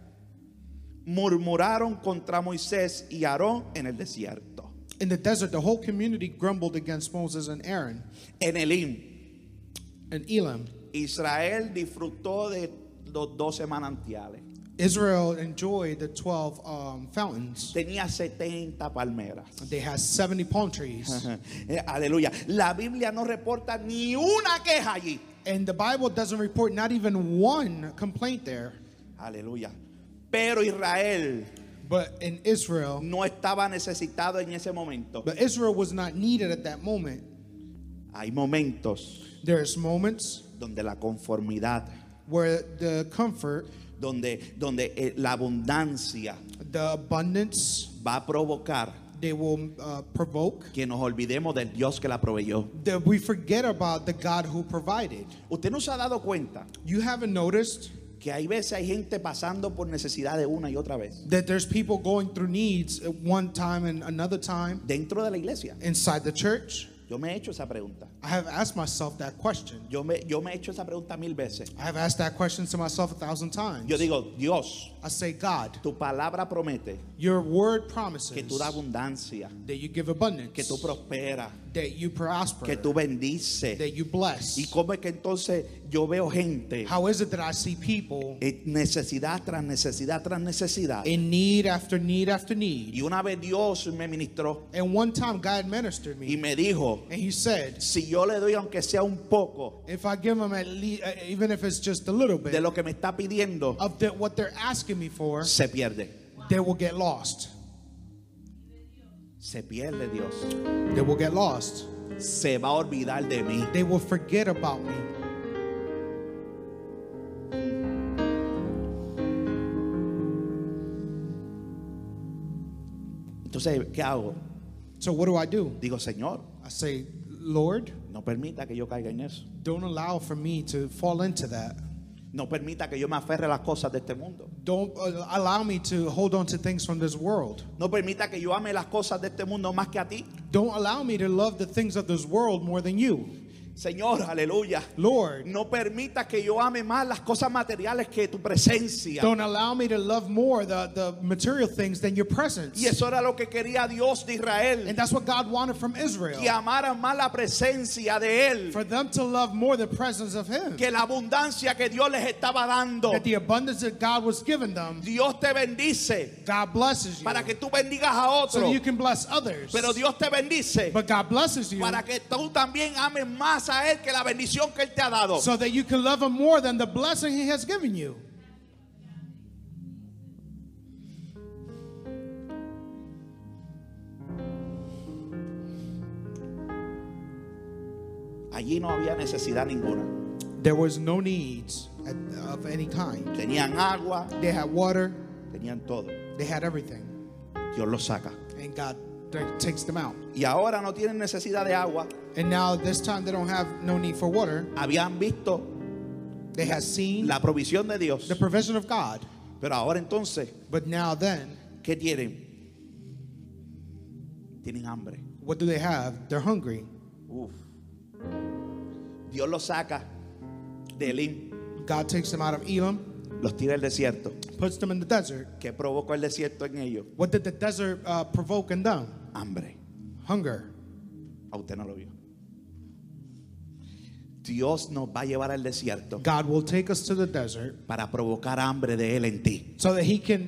murmuraron contra Moisés y Aarón en el desierto. In the desert, the whole community grumbled against Moses and Aaron. En Elim, And Elam, Israel disfrutó de los 12 manantiales. Israel enjoyed the 12 fountains. Tenía 70 palmeras. They had 70 palm trees. Aleluya. La Biblia no reporta ni una queja allí. And the Bible doesn't report not even one complaint there. Aleluya. Pero Israel But in Israel, no estaba necesitado en ese momento. but Israel was not needed at that moment. Hay momentos There's moments donde la conformidad, where the comfort, donde la abundancia the abundance, va a provocar they will provoke que nos olvidemos del Dios que la proveyó. that we forget about the God who provided. Usted no se ha dado cuenta You haven't noticed que hay veces hay gente pasando por necesidad de una y otra vez that there's people going through needs at one time and another time dentro de la iglesia. inside the church? Yo me he hecho esa pregunta. I have asked myself that question. Yo me he hecho esa pregunta 1000 veces. I have asked that question to myself 1,000 times. Yo digo, Dios, I say, God, tu palabra promete your word promises que tú das abundancia, that you give abundance, que tú prosperas, that you prosper, que tú bendices. that you bless. ¿Y cómo es que entonces yo veo gente How is it that I see people necesidad tras necesidad tras necesidad? in need after need after need? Y una vez Dios me ministró And one time God ministered y me, me dijo, and He said, si yo le doy aunque sea un poco if I give them at least, even if it's just a little de bit lo que me está pidiendo, of what they're asking me for, se pierde. they will get lost. Se pierde Dios. They will get lost. Se va a olvidar de mí. They will forget about me. Entonces, ¿qué hago? So what do? Digo, Señor, I say, Lord, no permita que yo caiga en eso. don't allow for me to fall into that. No permita que yo me aferre a las cosas de este mundo. Don't allow me to hold on to things from this world. No permita que yo ame las cosas de este mundo más que a ti. Don't allow me to love the things of this world more than you. Señor, aleluya. Lord, No permita que yo ame más las cosas materiales que tu presencia. don't allow me to love more the material things than your presence. Y eso era lo que quería Dios de Israel. And that's what God wanted from Que Israel. amaran más la presencia de Él For them to love more the presence of Him. que la abundancia que Dios les estaba dando. That the abundance that God was giving them, Dios te bendice God blesses you. para que tú bendigas a So otro. that you can bless others. Pero Dios te bendice But God blesses you para que tú también ames más a Él que la bendición que Él te ha dado. so that you can love Him more than the blessing He has given you. Allí no había necesidad ninguna. There was no needs of any kind. Tenían agua, They had water, tenían todo. they had everything. Dios los saca. And God takes them out. Y ahora no tienen necesidad de agua. And now this time they don't have no need for water. Habían visto They had seen la provisión de Dios. the provision of God. Pero ahora entonces, But now then, ¿qué tienen? Tienen hambre. what do they have? They're hungry. Uf. Dios los saca de Elim, God takes them out of Elam, los tira al desierto. puts them in the desert. ¿Qué provocó el desierto en ellos? What did the desert provoke in them? Hambre. Hunger. A usted no lo vio. Dios nos va a llevar al desierto God will take us to the desert para provocar hambre de Él en ti. so that He can.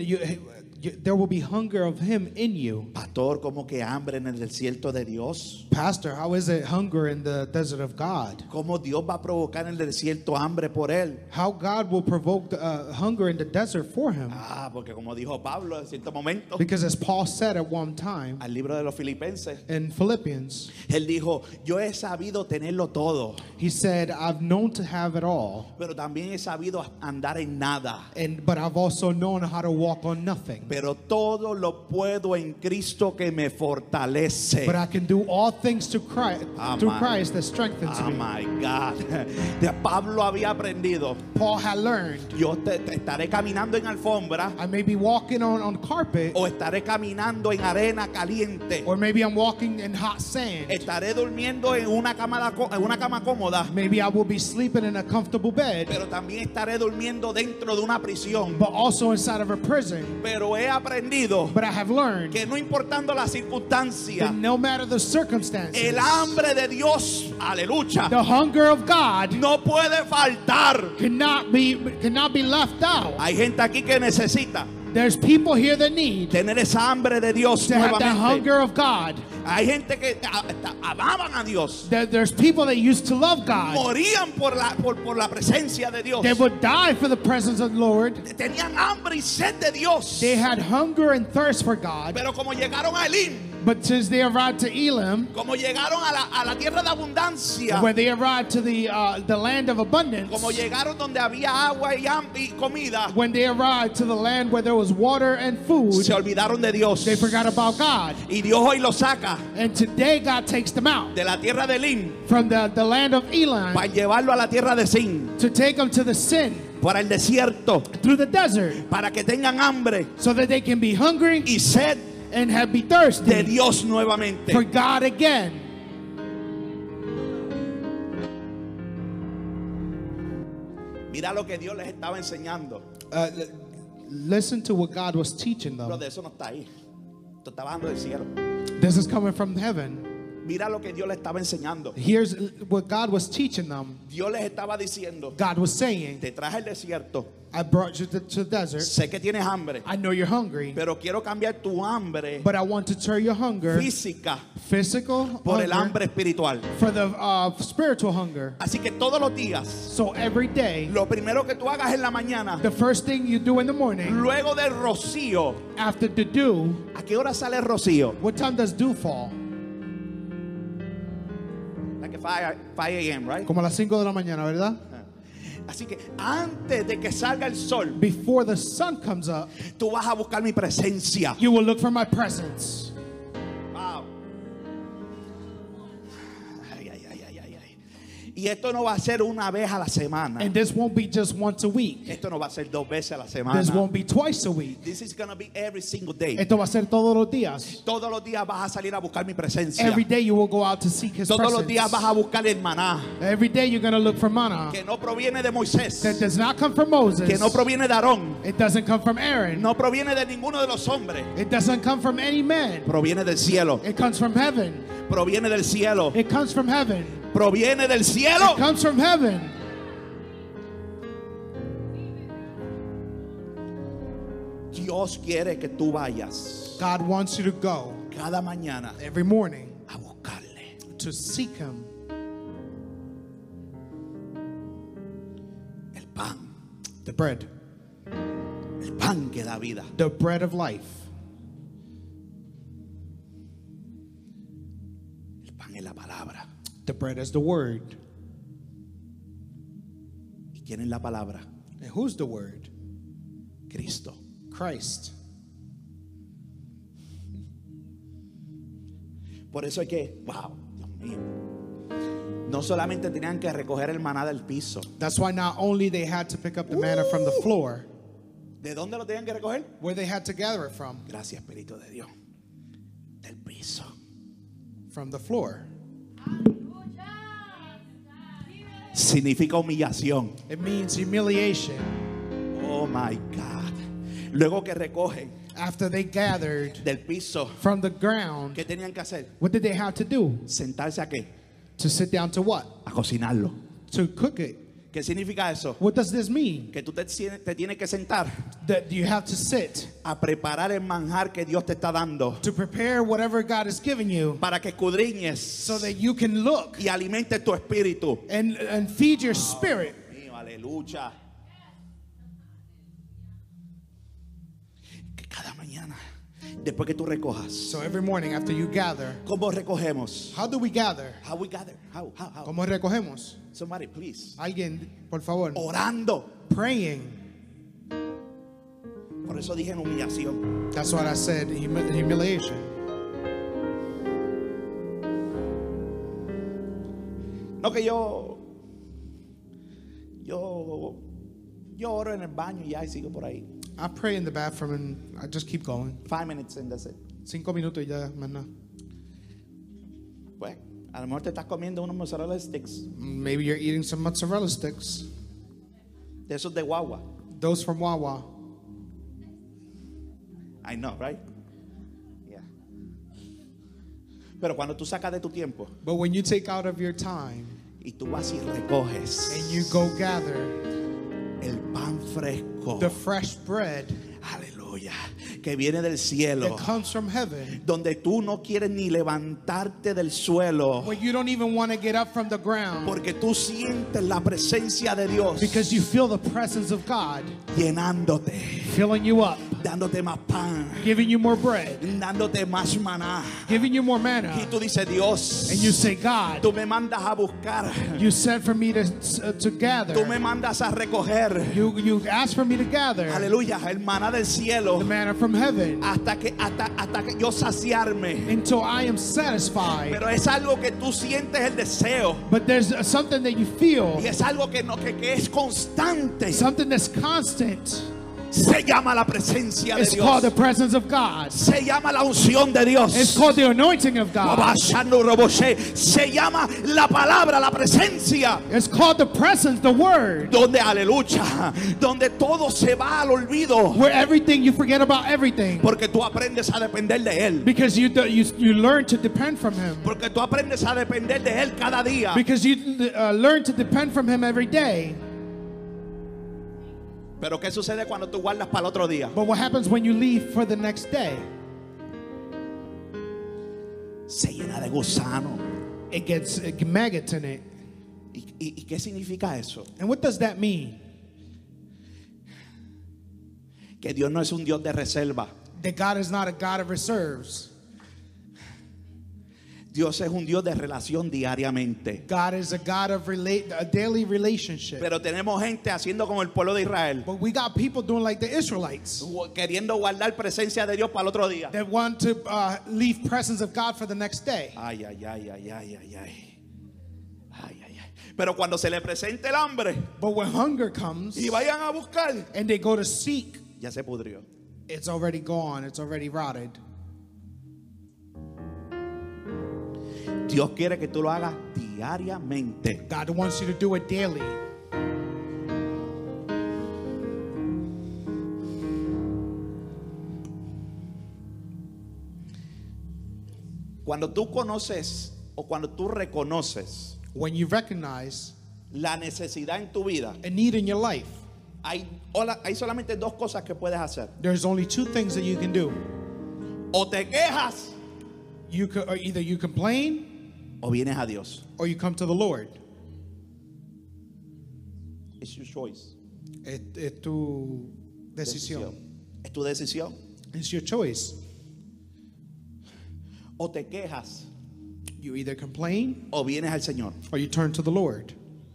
There will be hunger of Him in you. Pastor, ¿cómo que hambre en el desierto de Dios? Pastor, how is it hunger in the desert of God? ¿Cómo Dios va a provocar en el desierto hambre por Él? How God will provoke hunger in the desert for Him? Porque como dijo Pablo en cierto momento, Because as Paul said at one time al libro de los Filipenses, in Philippians, él dijo, yo he sabido tenerlo todo, he said, I've known to have it all, pero también he sabido andar en nada. but I've also known how to walk on nothing. Pero todo lo puedo en Cristo que me fortalece. But I can do all things to Christ, through Christ that strengthens Oh me. my God. De Pablo había aprendido. Paul had learned, Yo te estaré caminando en alfombra I may be walking on carpet, o estaré caminando en arena caliente. or maybe I'm walking in hot sand. Estaré durmiendo en una cama cómoda, Maybe I will be sleeping in a comfortable bed, pero también estaré durmiendo dentro de una prisión. but also inside of a prison. Pero he aprendido But I have learned que no importando la circunstancia, that no matter the circumstances, el hambre de Dios, aleluya, the hunger of God no puede faltar. cannot be left out. Hay gente aquí que necesita There's people here that need tener esa hambre de Dios to have that nuevamente. hunger of God. Hay gente que amaban a Dios, There's people that used to love God. morían por la presencia de Dios, They would die for the presence of the Lord. tenían hambre y sed de Dios, They had hunger and thirst for God. pero como llegaron a Elim, But since they arrived to Elim, como llegaron a la tierra de abundancia, when they arrived to the land of abundance, como llegaron donde había agua y comida, when they arrived to the land where there was water and food, se olvidaron de Dios. they forgot about God. Y Dios hoy los saca And today God takes them out de la tierra de Elim from the land of Elim para llevarlo a la tierra de Sin, to take them to the sin para el desierto, through the desert para que tengan hambre so that they can be hungry y sed and be de thirsty Dios nuevamente. for God again. Mira lo que Dios les estaba enseñando. Listen to what God was teaching Pero them. de eso no está ahí. Esto está bajando del cielo. This is coming from heaven. Mira lo que Dios les estaba enseñando. Here's what God was teaching them. Dios les estaba diciendo, God was saying, te traje el desierto. I brought you to the desert. Sé que tienes hambre, I know you're hungry, pero quiero cambiar tu hambre but I want to turn your hunger, física physical por el hunger, hambre espiritual. for the spiritual hunger. Así que todos los días, So every day, lo primero que tú hagas en la mañana, the first thing you do in the morning, luego del rocío, after the dew, ¿a qué hora sale el rocío? what time does dew fall? Like 5 a.m., right? Como a las 5 de la mañana, ¿verdad? Así que antes de que salga el sol, Before the sun comes up, tú vas a buscar mi presencia. you will look for my presence. Wow. Ay, ay, ay, ay, ay, ay. Y esto no va a ser una vez a la semana. And this won't be just once a week. Esto no va a ser 2 veces a la semana. This won't be twice a week. This is going to be every single day. Esto va a ser todos los días. Todos los días vas a salir a buscar mi presencia. Every day you will go out to seek His Todos los días vas presence. a buscar el maná Every day you're going to look for manna que no proviene de Moisés, that does not come from Moses. que no proviene de Aarón, It doesn't come from Aaron. no proviene de ninguno de los hombres. It doesn't come from any man. Proviene del cielo. It comes from heaven. Proviene del cielo. It comes from heaven. Proviene del cielo. It comes from heaven. Dios quiere que tú vayas God wants you to go cada mañana every morning a buscarle. to seek Him. El pan. The bread. El pan que da vida. The bread of life. El pan es la palabra. The bread is the word. ¿Y quién es la palabra? And who's the word? Cristo. Christ. Por eso es que, wow, Dios mío. No solamente tenían que recoger el maná del piso. That's why not only they had to pick up the manna from the floor, ¿De dónde lo tenían que recoger? where they had to gather it from Gracias, Espíritu de Dios. Del piso. the floor. Significa humillación. It means humiliation. Oh my God. Luego que recogen, After they gathered del piso, from the ground, ¿qué tenían que hacer? what did they have to do? Sentarse a qué? To sit down to what? A cocinarlo. To cook it. ¿Qué significa eso? What does this mean? Que tú te tienes que sentar That you have to sit a preparar el manjar que Dios te está dando to prepare whatever God has given you para que escudriñes so that you can look y alimentes tu espíritu. and feed your spirit. Mío, aleluya. Que cada mañana, después que tú recojas, So every morning after you gather, ¿cómo recogemos? how do we gather? How we gather? How? ¿Cómo recogemos? Somebody, please. Alguien, por favor. Orando. Praying. Por eso dije en humillación. That's what I said, humiliation. No que yo oro en el baño y ya y sigo por ahí. I pray in the bathroom and I just keep going. 5 minutes and that's it. 5 minutos y ya, más nada. Pues, a lo mejor te estás comiendo unos mozzarella sticks Maybe you're eating some mozzarella sticks. de esos de guagua. Those from Wawa. I know, right? Yeah. Pero cuando tú sacas de tu tiempo But when you take out of your time y tú vas y recoges and you go gather el pan fresco, the fresh bread aleluya, que viene del cielo, that comes from heaven, donde tú no quieres ni levantarte del suelo, where you don't even want to get up from the ground porque tú sientes la presencia de Dios because you feel the presence of God llenándote, filling you up, dándote más pan, giving you more bread, dándote más maná. giving you more manna. Y tú dices, Dios, And you say, God, tú me mandas a buscar, you sent for me to tú gather. me mandas a recoger, You asked for me to gather aleluya, el maná del cielo, the manna from heaven hasta que yo saciarme. until I am satisfied. Pero es algo que tú sientes el deseo, But there's something that you feel, y es algo que es constante. something that's constant. Se llama la presencia de It's called the Dios, presence of God. se llama la unción de Dios, It's called the anointing of God. se llama la palabra, la presencia, It's called the presence, the word, donde aleluya, donde todo se va al olvido, where everything, you forget about everything porque tú aprendes a depender de él, because you learn to depend from Him, porque tú aprendes a depender de él cada día. because you learn to depend from Him every day. Pero ¿qué sucede cuando tú guardas para el otro día? But what happens when you leave for the next day? Se llena de gusano. It gets maggots in it. ¿Y qué significa eso? And what does that mean? Que Dios no es un Dios de reserva. That God is not a God of reserves. Dios es un Dios de relación diariamente. God is a God of a daily relationship. Pero tenemos gente haciendo como el pueblo de Israel, But we got people doing like the Israelites queriendo guardar presencia de Dios para el otro día. that want to leave presence of God for the next day. Ay, ay, ay, ay, ay, ay, ay. Ay, ay, ay. Pero cuando se le presente el hambre But when hunger comes y vayan a buscar, and they go to seek, ya se pudrió. it's already gone. It's already rotted. Dios quiere que tú lo hagas diariamente. God wants you to do it daily. Cuando tú conoces o cuando tú reconoces When you recognize la necesidad en tu vida, a need in your life, hay solamente dos cosas que puedes hacer. there's only two things that you can do. O te quejas Or either you complain o vienes a Dios. or you come to the Lord. It's your choice. Es tu decisión. Es tu decisión. It's your choice. O te quejas You either complain o vienes al Señor. or you turn to the Lord.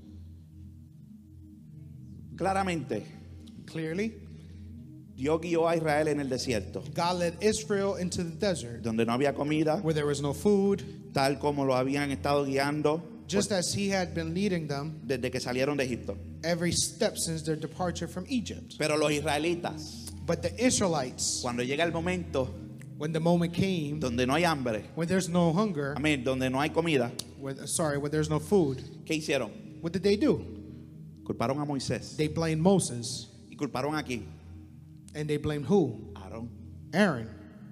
Claramente, Clearly, Dios guió a Israel en el desierto, God led Israel into the desert donde no había comida, where there was no food, tal como lo habían estado guiando just as He had been leading them desde que salieron de Egipto. every step since their departure from Egypt. Pero los israelitas, But the Israelites, cuando llega el momento when the moment came, donde no hay hambre, when there's no hunger, amén, donde no hay comida, when there's no food, ¿qué hicieron? what did they do? Culparon a Moisés They blamed Moses. y culparon aquí And they blamed who? a Aarón. Aaron.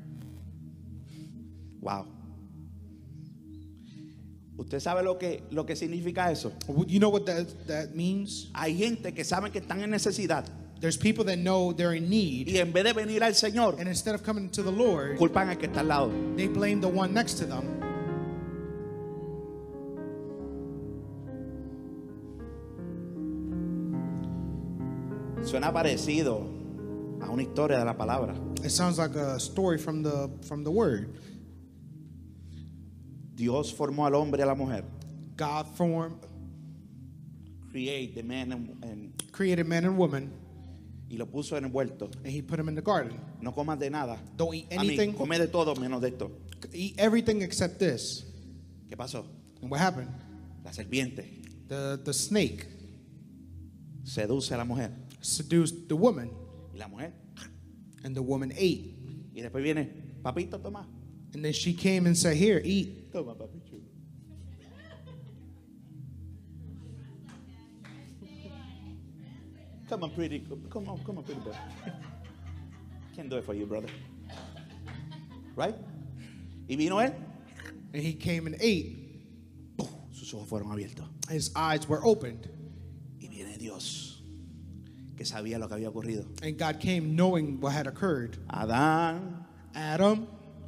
Wow. ¿Usted sabe lo que significa eso? You know what that means? Hay gente que sabe que están en necesidad There's people that know they're in need, y en vez de venir al Señor, and instead of coming to the Lord, culpan al que está al lado. they blame the one next to them. Suena parecido a una historia de la palabra. It sounds like a story from the word. Dios formó al hombre y a la mujer. God Create the man and created man and woman, y lo puso envuelto. and he put them in the garden. No comas de nada. Don't eat A mí, anything. come de todo menos de esto. Eat everything except this. ¿Qué pasó? And what happened? La serpiente The snake seduce a la mujer seduced the woman, y la mujer. and the woman ate. Y después viene, papito, toma. And then she came and said, "Here, eat." Toma, papito. Come on, pretty. Come on, pretty boy. Can't do it for you, brother. Right? Y vino él. And he came and ate. Sus ojos fueron abiertos. His eyes were opened. Y viene Dios, que sabía lo que había ocurrido. And God came knowing what had occurred. Adán, Adam,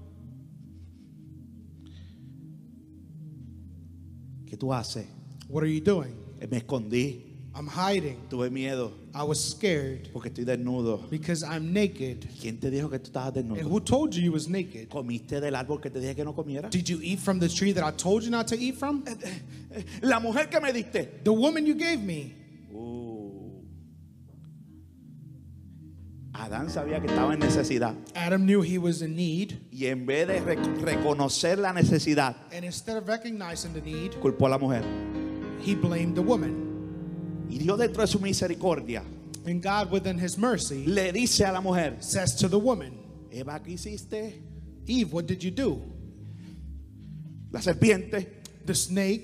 ¿qué tú haces? what are you doing? Me escondí, I'm hiding. tuve miedo, I was scared porque estoy desnudo. because I'm naked. ¿Quién te dijo que tú estabas And desnudo? who told you was naked? ¿Comiste del árbol que te dije que no comiera? Did you eat from the tree that I told you not to eat from? La mujer que me diste. The woman you gave me. Adán sabía que estaba en necesidad Adam knew he was in need. y en vez de reconocer la necesidad, And instead of recognizing the need, culpó a la mujer. he blamed the woman. Y Dios, dentro de su misericordia, And God, within his mercy, le dice a la mujer: says to the woman, Eva, ¿qué hiciste? "Eve, what did you do?" La serpiente The snake.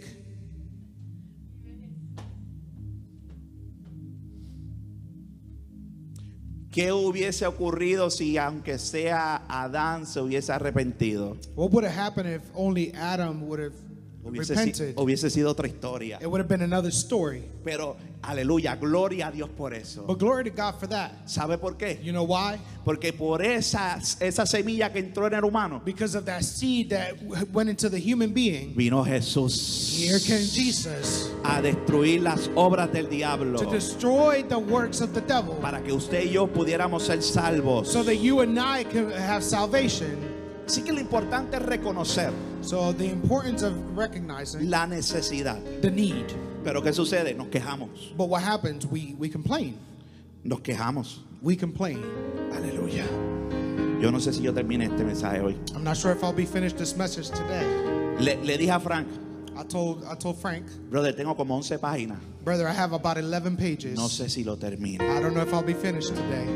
¿qué hubiese ocurrido si aunque sea Adán se hubiese arrepentido? What would have happened if only Adam would have repented? Hubiese sido otra historia. It would have been another story. Pero, aleluya, gloria a Dios por eso. But glory to God for that. ¿Sabe por qué? You know why? Porque por esa semilla que entró en el humano, Because of that seed that went into the human being. vino Jesús Here came Jesus a destruir las obras del diablo, to destroy the works of the devil, para que usted y yo pudiéramos ser salvos. so that you and I can have salvation. Así que lo importante es reconocer So the importance of recognizing la necesidad. the need. Pero ¿qué sucede? Nos quejamos. But what happens? We complain. Nos quejamos. We complain. Aleluya. Yo no sé si yo termine este mensaje hoy. I'm not sure if I'll be finished this message today. Le dije a Frank, I told Frank, brother, tengo como 11 páginas. brother, I have about 11 pages. No sé si lo termino. I don't know if I'll be finished today.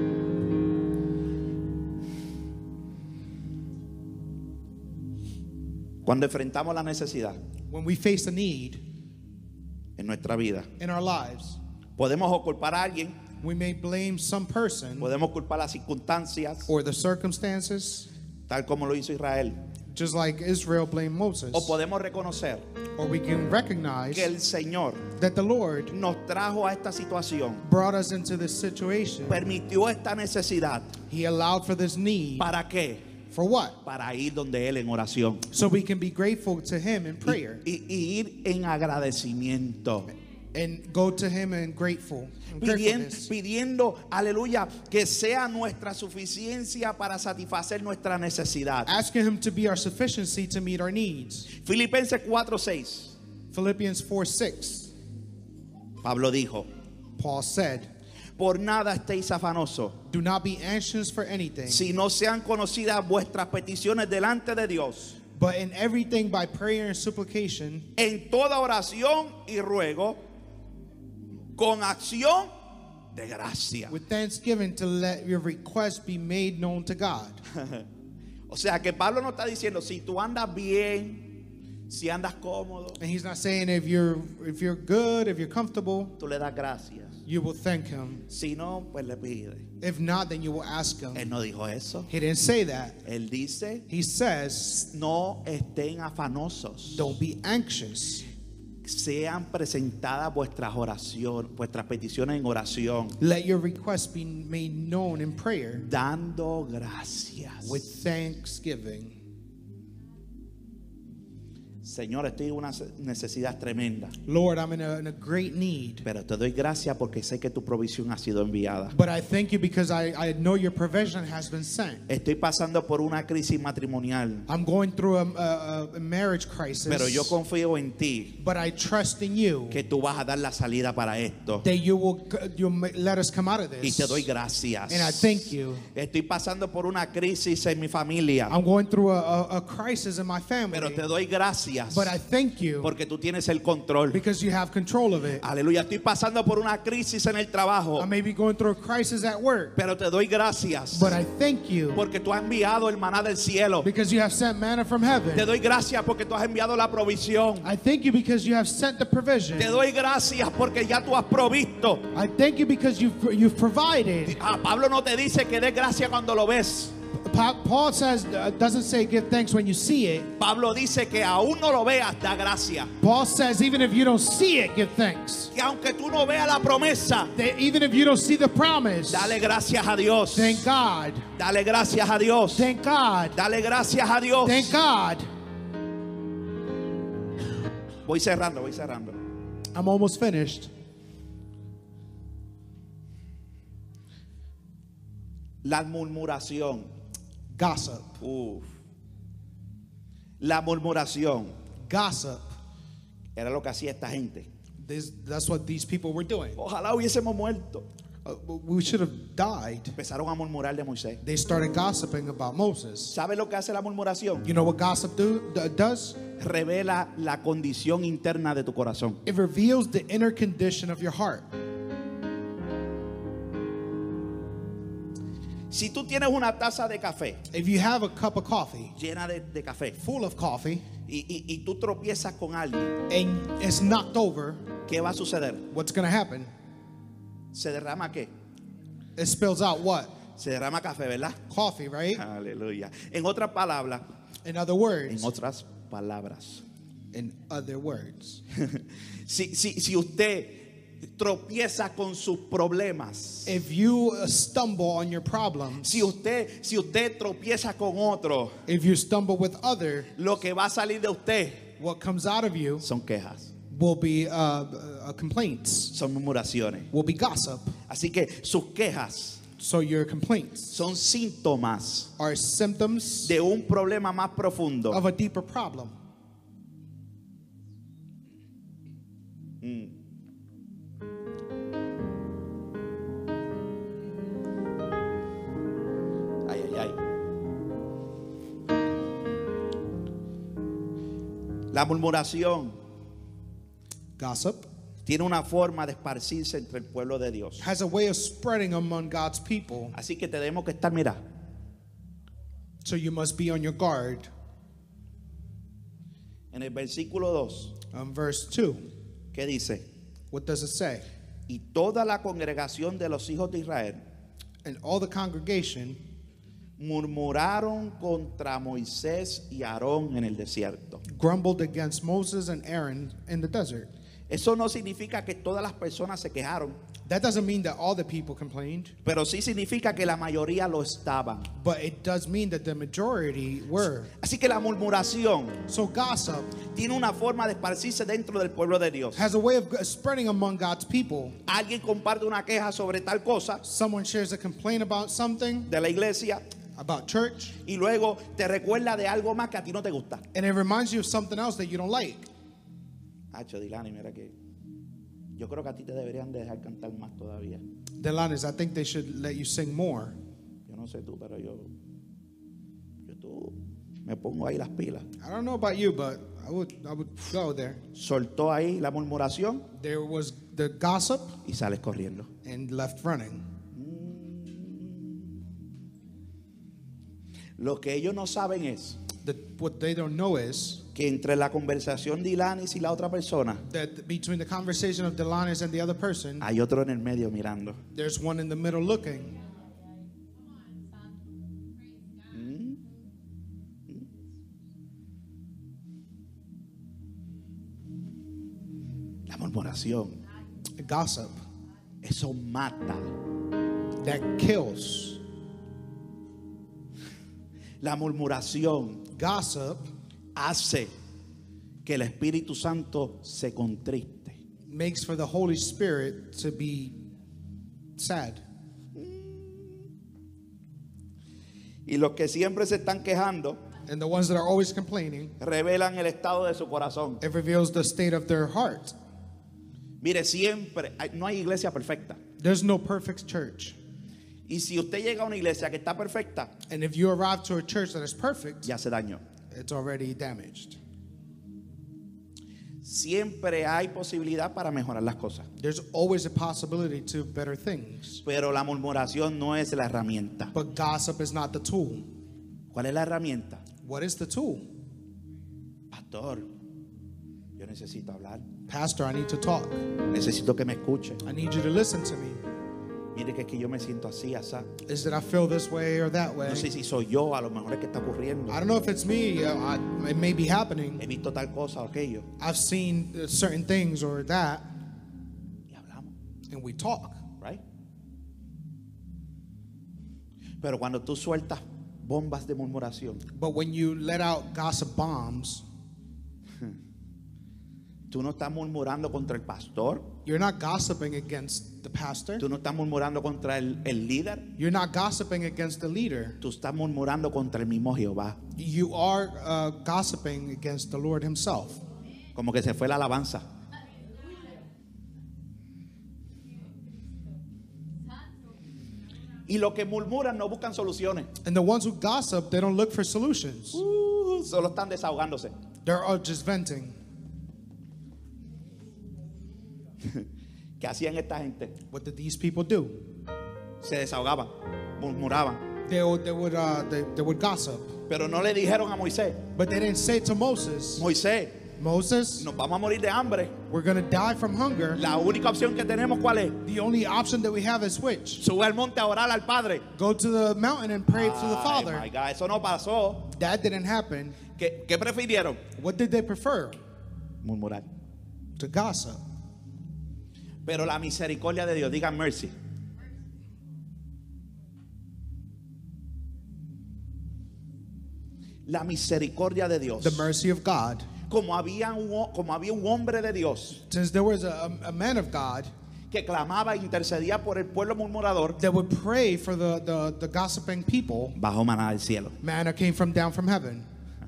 Cuando enfrentamos la necesidad When we face a need en nuestra vida, in our lives, podemos o culpar a alguien, we may blame some person podemos culpar las circunstancias, or the circumstances, tal como lo hizo Israel, just like Israel blamed Moses. o podemos reconocer Or we can recognize que el Señor that the Lord nos trajo a esta situación, brought us into this situation. permitió esta necesidad. He allowed for this need. ¿Para qué? For what? Para ir donde Él en oración So we can be grateful to Him in prayer y ir en agradecimiento. and go to Him in gratefulness. Pidiendo, aleluya, que sea nuestra suficiencia para satisfacer nuestra necesidad. Asking Him to be our sufficiency to meet our needs. Filipenses 4:6. Philippians 4:6. Pablo dijo: Paul said, por nada estéis afanosos, "Do not be anxious for anything, si no sean conocidas vuestras peticiones delante de Dios, but in everything by prayer and supplication, en toda oración y ruego, con acción de gracia. with thanksgiving to let your requests be made known to God." O sea que Pablo no está diciendo, si tú andas bien, Si andas cómodo, And he's not saying if you're good, if you're comfortable, tú le das gracias. you will thank him. Si no, pues le pide. If not, then you will ask Él him. no dijo eso. He didn't say that. Él dice, He says, no estén afanosos. don't be anxious. Sean presentadas vuestras oraciones, vuestras peticiones en oración, Let your requests be made known in prayer dando gracias. with thanksgiving. Señor, estoy en una necesidad tremenda, Lord, I'm in a great need. pero te doy gracias porque sé que tu provisión ha sido enviada. But I thank you because I know your provision has been sent. Estoy pasando por una crisis matrimonial, I'm going through a marriage crisis. pero yo confío en ti But I trust in you que tú vas a dar la salida para esto. that you'll let us come out of Y te doy this. gracias. And I thank you. Estoy pasando por una crisis en mi familia, I'm going through a crisis in my family. pero te doy gracias But I thank you porque tú tienes el control. because you have control of it. Aleluya. Estoy pasando por una crisis en el trabajo, I may be going through a crisis at work. pero te doy gracias But I thank you porque tú has enviado el maná del cielo. because you have sent manna from Te heaven. doy gracias porque tú has enviado la provisión. I thank you because you have sent the provision. Te doy gracias porque ya tú has provisto. I thank you because you've provided. Pablo no te dice que des gracias cuando lo ves. Paul says, doesn't say give thanks when you see it. Pablo dice que aún no lo veas, da gracias. Paul says even if you don't see it, give thanks. Que aunque tú no veas la promesa, That even if you don't see the promise, dale gracias a Dios. thank God. Dale gracias a Dios. Thank God. Dale gracias a Dios. Thank God. Voy cerrando. I'm almost finished. La murmuración. Gossip. Uf. La murmuración Gossip. era lo que hacía esta gente. That's what these people were doing. Ojalá hubiésemos muerto. We should have died. Empezaron a murmurar de Moisés. They started gossiping about Moses. ¿Sabe lo que hace la murmuración? You know what gossip does? Revela la condición interna de tu corazón. It reveals the inner condition of your heart. Si tú tienes una taza de café If you have a cup of coffee, llena de café full of coffee, y tú tropiezas con alguien, and it's knocked over, ¿qué va a suceder? what's going to happen? ¿Se derrama qué? It spills out what? Se derrama café, ¿verdad? Coffee, right? Aleluya. En otras palabras, In other words, en otras palabras, si usted tropieza con sus problemas, if you stumble on your problems, si usted tropieza con otro, if you stumble with other, lo que va a salir de usted what comes out of you son quejas, will be complaints, son murmuraciones. will be gossip. Así que sus quejas So your complaints son síntomas are symptoms de un problema más profundo. of a deeper problem. Ay, ay, ay. La murmuración Gossip tiene una forma de esparcirse entre el pueblo de Dios. has a way of spreading among God's people. Así que tenemos que estar, mira, So you must be on your guard. en el versículo 2, Verse 2, que dice: what does it say? y toda la congregación de los hijos de Israel And all the congregation murmuraron contra Moisés y Aarón en el desierto. grumbled against Moses and Aaron in the desert. Eso no significa que todas las personas se quejaron, That doesn't mean that all the people complained, pero sí significa que la mayoría lo estaban. but it does mean that the majority were. Así que la murmuración So gossip tiene una forma de esparcirse dentro del pueblo de Dios. has a way of spreading among God's people. Alguien comparte una queja sobre tal cosa Someone shares a complaint about something, de la iglesia about church, y luego te recuerda de algo más que a ti no te gusta. and it reminds you of something else that you don't like. Hacho, Dilani, mira que yo creo que a ti te deberían de dejar cantar más todavía. Delanis, I think they should let you sing more. Yo no sé tú, pero yo tú me pongo ahí las pilas. I don't know about you, but I would go there. Soltó ahí la murmuración There was the gossip y sales corriendo. and left running. Lo que ellos no saben es what they don't know is que entre la conversación de Ilanis y la otra persona that between the conversation of Delanis and the other person, hay otro en el medio mirando. there's one in the middle looking. La murmuración, Gossip eso mata. that kills. La murmuración Gossip hace que el Espíritu Santo se contriste. makes for the Holy Spirit to be sad. Y los que siempre se están quejando And the ones that are always complaining, revelan el estado de su corazón. it reveals the state of their heart. Mire, siempre no hay iglesia perfecta. There's no perfect church. Y si usted llega a una iglesia que está perfecta, And if you arrive to a church that is perfect, ya se dañó. it's already damaged. Siempre hay posibilidad para mejorar las cosas. There's always a possibility to better things. Pero la murmuración no es la herramienta. But gossip is not the tool. ¿Cuál es la herramienta? What is the tool? Pastor, yo necesito hablar. Pastor, I need to talk. Necesito que me escuche. I need you to listen to me. Mire que es que yo me siento así, asá. Is that I feel this way or that way? No sé si soy yo, a lo mejor es que está ocurriendo. I don't know if it's me. It may be happening. He visto tal cosa o aquello. I've seen certain things or that, Y hablamos, and we talk. right? Pero cuando tú sueltas bombas de murmuración, But when you let out gossip bombs, tú no estás murmurando contra el pastor, you're not gossiping against the pastor. tú no estás murmurando contra el líder, You're not gossiping against the leader. tú estás murmurando contra el mismo Jehová. You are gossiping against the Lord himself. Como que se fue la alabanza. Y los que murmuran no buscan soluciones. And the ones who gossip, they don't look for solutions. Solo están desahogándose. They're all just venting. ¿Qué hacían esta gente? What did these people do? Se desahogaban, murmuraban. They would gossip. Pero no le dijeron a Moisés, But they didn't say to Moses, Moisés, Moses, nos vamos a morir de hambre. we're going to die from hunger. La única opción que tenemos, ¿cuál es? The only option that we have is which? Sube al monte a orar al Padre. Go to the mountain and pray to the Ay, Father. my God, eso no pasó. That didn't happen. ¿Qué prefirieron? What did they prefer? Murmurar. To gossip. Pero la misericordia de Dios, digan mercy. La misericordia de Dios. The mercy of God. Como había un hombre de Dios Since there was a man of God que clamaba e intercedía por el pueblo murmurador, that would pray for the gossiping people, bajó maná del cielo. manna came down from heaven.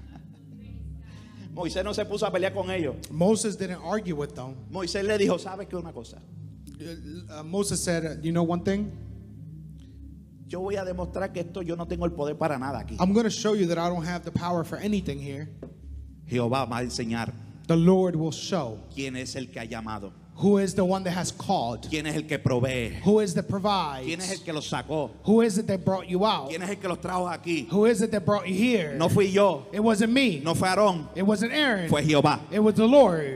Moisés no se puso a pelear con ellos. Moses didn't argue with them. Moisés le dijo, ¿sabes qué una cosa? Moses said, you know one thing? Yo voy a demostrar que esto yo no tengo el poder para nada aquí. I'm going to show you that I don't have the power for anything here. Jehová va a enseñar The Lord will show quién es el que ha llamado, who is the one that has called, quién es el que provee, who is that quién es el provides, que los sacó, who is it that brought you out, quién es el que los trajo aquí. who is it that brought you here. No fui yo, It wasn't me. no fue Aarón, It wasn't Aaron. fue Jehová. It was the Lord.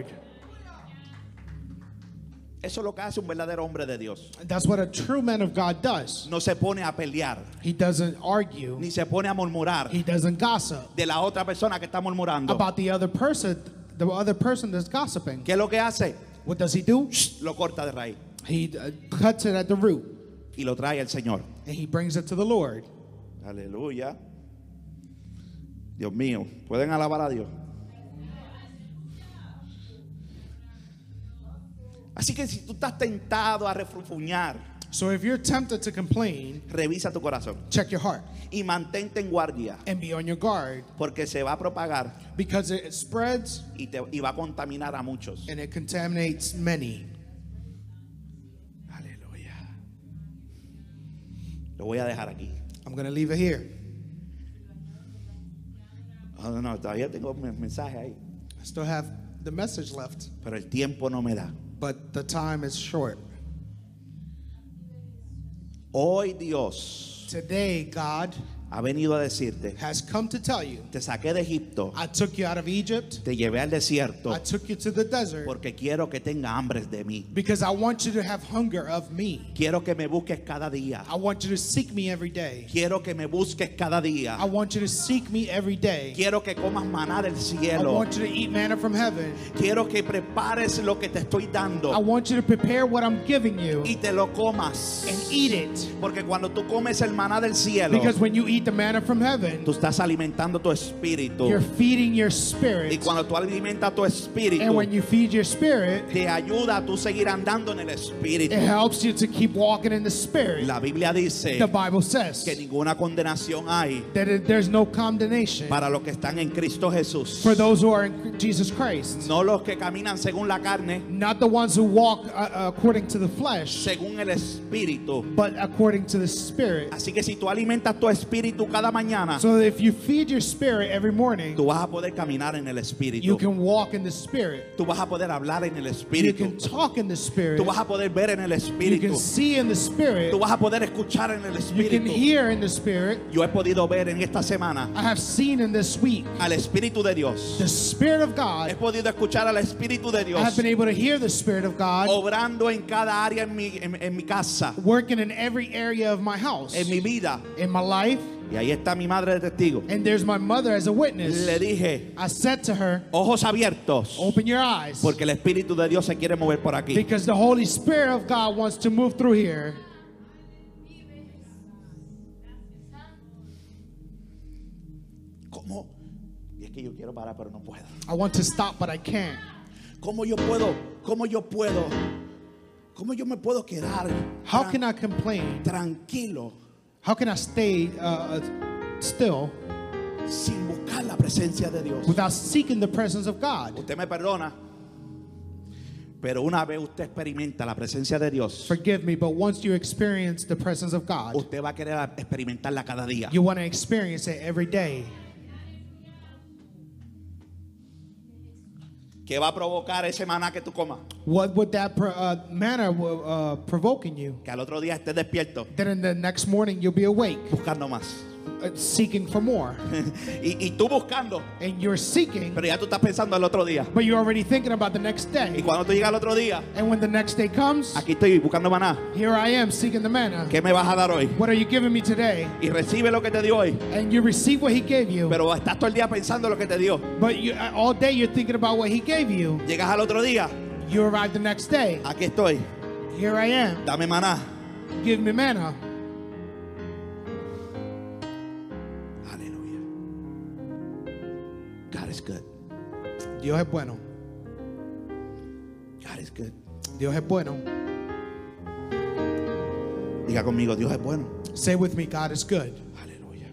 Eso es lo que hace un verdadero hombre de Dios. That's what a true man of God does. No se pone a pelear, He doesn't argue. ni se pone a murmurar He doesn't gossip de la otra persona que está murmurando. about the other person that's gossiping. ¿Qué es lo que hace? What does he do? Lo corta de raíz He cuts it at the root y lo trae al Señor. and he brings it to the Lord. Aleluya. Dios mío, ¿pueden alabar a Dios? Así que si tú estás tentado a refrufuñar, So if you're tempted to complain, revisa tu corazón check your heart y mantente en guardia, and be on your guard, porque se va a propagar because it spreads y va a contaminar a muchos. and it contaminates many. Aleluya. Lo voy a dejar aquí. I'm going to leave it here. Oh, no, todavía tengo un mensaje ahí, I still have the message left, pero el tiempo no me da. but the time is short. Hoy Dios Today, God ha venido a decirte, has come to tell you, te saqué de Egipto, I took you out of Egypt, te llevé al desierto, I took you to the desert, porque quiero que tenga hambre de mí. because I want you to have hunger of me. Quiero que me busques cada día. I want you to seek me every day. Quiero que me busques cada día. I want you to seek me every day. Quiero que comas maná del I cielo. want you to eat manna from heaven. Quiero que prepares lo que te estoy I dando want you to prepare what I'm giving you y te lo comas. and eat it. Porque cuando tú comes el maná del cielo, Because when you eat the manna from heaven, tú estás alimentando tu espíritu. you're feeding your Y spirit. cuando tú alimentas tu And espíritu, when you feed your spirit, te ayuda a tú seguir andando en el espíritu. it helps you to keep walking in the spirit. La Biblia dice The Bible says que ninguna condenación hay that there's no condemnation para los que están en Cristo Jesús. for those who are in Jesus Christ. No los que caminan según la carne, Not the ones who walk according to the flesh, según el espíritu. but according to the spirit. Así que si tú alimentas tu espíritu cada mañana, So that if you feed your spirit every morning, tú vas a poder caminar en el you espíritu. can walk in the spirit. Tú vas a poder hablar en el You espíritu. can talk in the spirit. Tú vas a poder ver en el You espíritu. can see in the spirit. Tú vas a poder escuchar en el You can espíritu. hear in the spirit. Yo he podido ver en esta semana I have seen in this week al Espíritu de Dios. the Spirit of He God. podido escuchar al Espíritu de I Dios have been able to hear the Spirit of God obrando en cada área en mi casa, working in every area of my house, en mi vida. in my life. Y ahí está mi madre de testigo. And there's my mother as a witness. Le dije, I said to her, ojos abiertos, open your eyes, porque el Espíritu de Dios se quiere mover por aquí. because the Holy Spirit of God wants to move through here. ¿Cómo? Y es que yo quiero parar, pero no puedo. I want to stop, but I can't. ¿Cómo yo puedo? ¿Cómo yo puedo? ¿Cómo yo me puedo quedar How can I complain? tranquilo How can I stay still sin buscar la presencia de Dios? without seeking the presence of God? Usted me perdona, pero una vez usted experimenta la presencia de Dios, Forgive me, but once you experience the presence of God, usted va a querer experimentarla cada día. you want to experience it every day. ¿Qué va a provocar ese maná que tú comas? What would that manner provoke in you? Que al otro día estés despierto, Then in the next morning you'll be awake, buscando más. seeking for more. y tú buscando, And you're seeking, pero ya tú estás pensando el otro día. but you're already thinking about the next Y day. cuando tú llegas al otro día, And when the next day comes, aquí estoy buscando maná. here I am seeking the manna. ¿Qué me vas a dar hoy? What are you giving me today? Y recibe lo que te dio hoy. And you receive what he gave you, Pero estás todo el día pensando lo que te dio. but all day you're thinking about what he gave you. Llegas al otro día, You arrive the next day. aquí estoy, Here I am. dame maná. Give me manna. Aleluya. God is good. Dios es bueno. God is good. Dios es bueno. Diga conmigo, Dios es bueno. Say with me, God is good. Aleluya.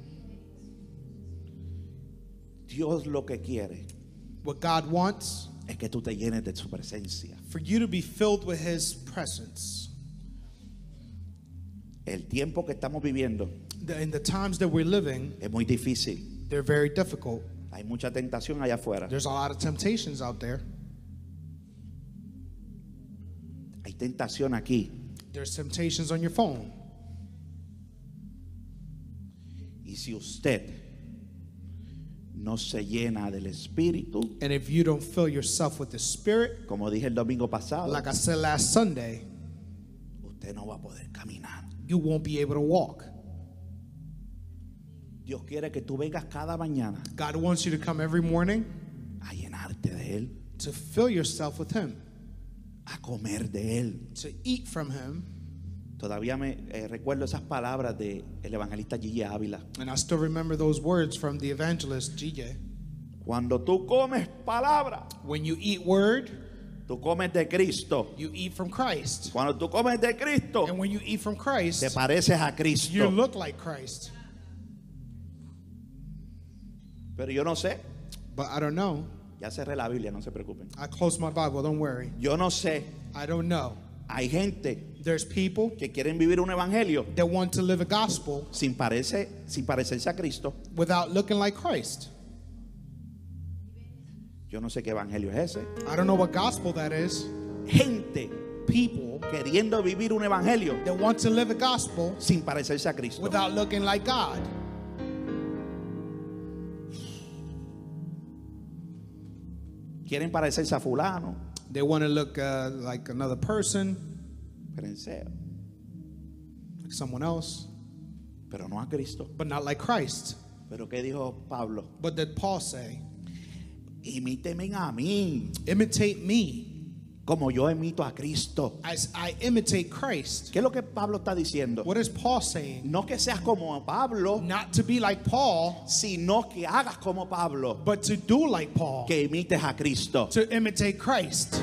Dios lo que quiere What God wants es que tú te llenes de su presencia. for you to be filled with his presence. El tiempo que estamos viviendo In the times that we're living, es muy difícil. they're very difficult. Hay mucha tentación allá afuera. There's a lot of temptations out there. Hay tentación aquí. There's temptations on your phone. Y si usted no se llena del Espíritu, And if you don't fill yourself with the Spirit, como dije el domingo pasado, like I said last Sunday, usted no va a poder caminar. you won't be able to walk. Dios quiere que tú vengas cada mañana God wants you to come every morning a llenarte de Él, to fill yourself with him, a comer de Él. to eat from him. Todavía me recuerdo esas palabras del evangelista Gigi Ávila. And I still remember those words from the evangelist GJ. Cuando tú comes palabra, When you eat word, tú comes de Cristo. you eat from Christ. Cuando tú comes de Cristo, And when you eat from te Christ, pareces a you Cristo. look like Christ. Pero yo no sé. But I don't know. Ya cerré la Biblia, no se preocupen. I closed my Bible, don't worry. Yo no sé. I don't know. Hay gente There's people que quieren vivir un evangelio that want to live a gospel sin parecerse a Cristo. without looking like Christ. Yo no sé qué evangelio es ese. I don't know what gospel that is. Gente People queriendo vivir un evangelio that want to live a gospel sin parecerse a Cristo. without looking like God. Quieren parecerse a fulano. They want to look like another person, Fariseo, like someone else, pero no a Cristo. but not like Christ. Pero ¿qué dijo Pablo? What did Paul say? Imíteme a mí, Imitate me como yo imito a Cristo. as I imitate Christ. ¿Qué es lo que Pablo está diciendo? What is Paul saying? No que seas como Pablo, Not to be like Paul, sino que hagas como Pablo, but to do like Paul, que imites a Cristo. to imitate Christ.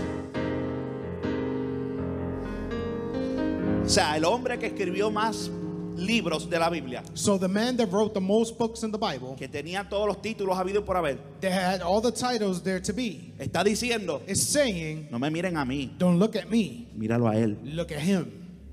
O sea, el hombre que escribió más libros de la Biblia, So the man that wrote the most books in the Bible, que tenía todos los títulos habidos por haber, that had all the titles there to be, está diciendo, is saying, no me miren a mí, don't look at me, míralo a él. look at him.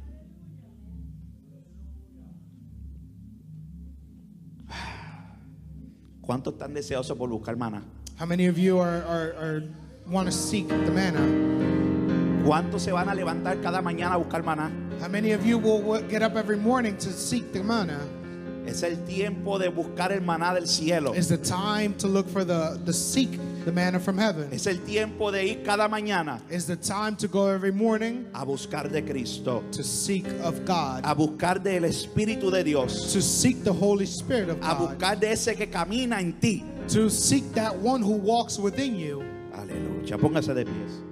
¿Cuántos están deseosos por buscar maná? How many of you are want to seek the manna? ¿Cuántos se van a levantar cada mañana a buscar maná? How many of you will get up every morning to seek the manna? Es el tiempo de buscar el maná del cielo. It's the time to look for the seek the manna from heaven. Es el tiempo de ir cada mañana It's the time to go every morning a buscar de Cristo, to seek of God, a buscar del Espíritu de Dios, to seek the Holy Spirit of a God, buscar de ese que camina en ti. to seek that one who walks within you. Aleluya. Póngase de pies.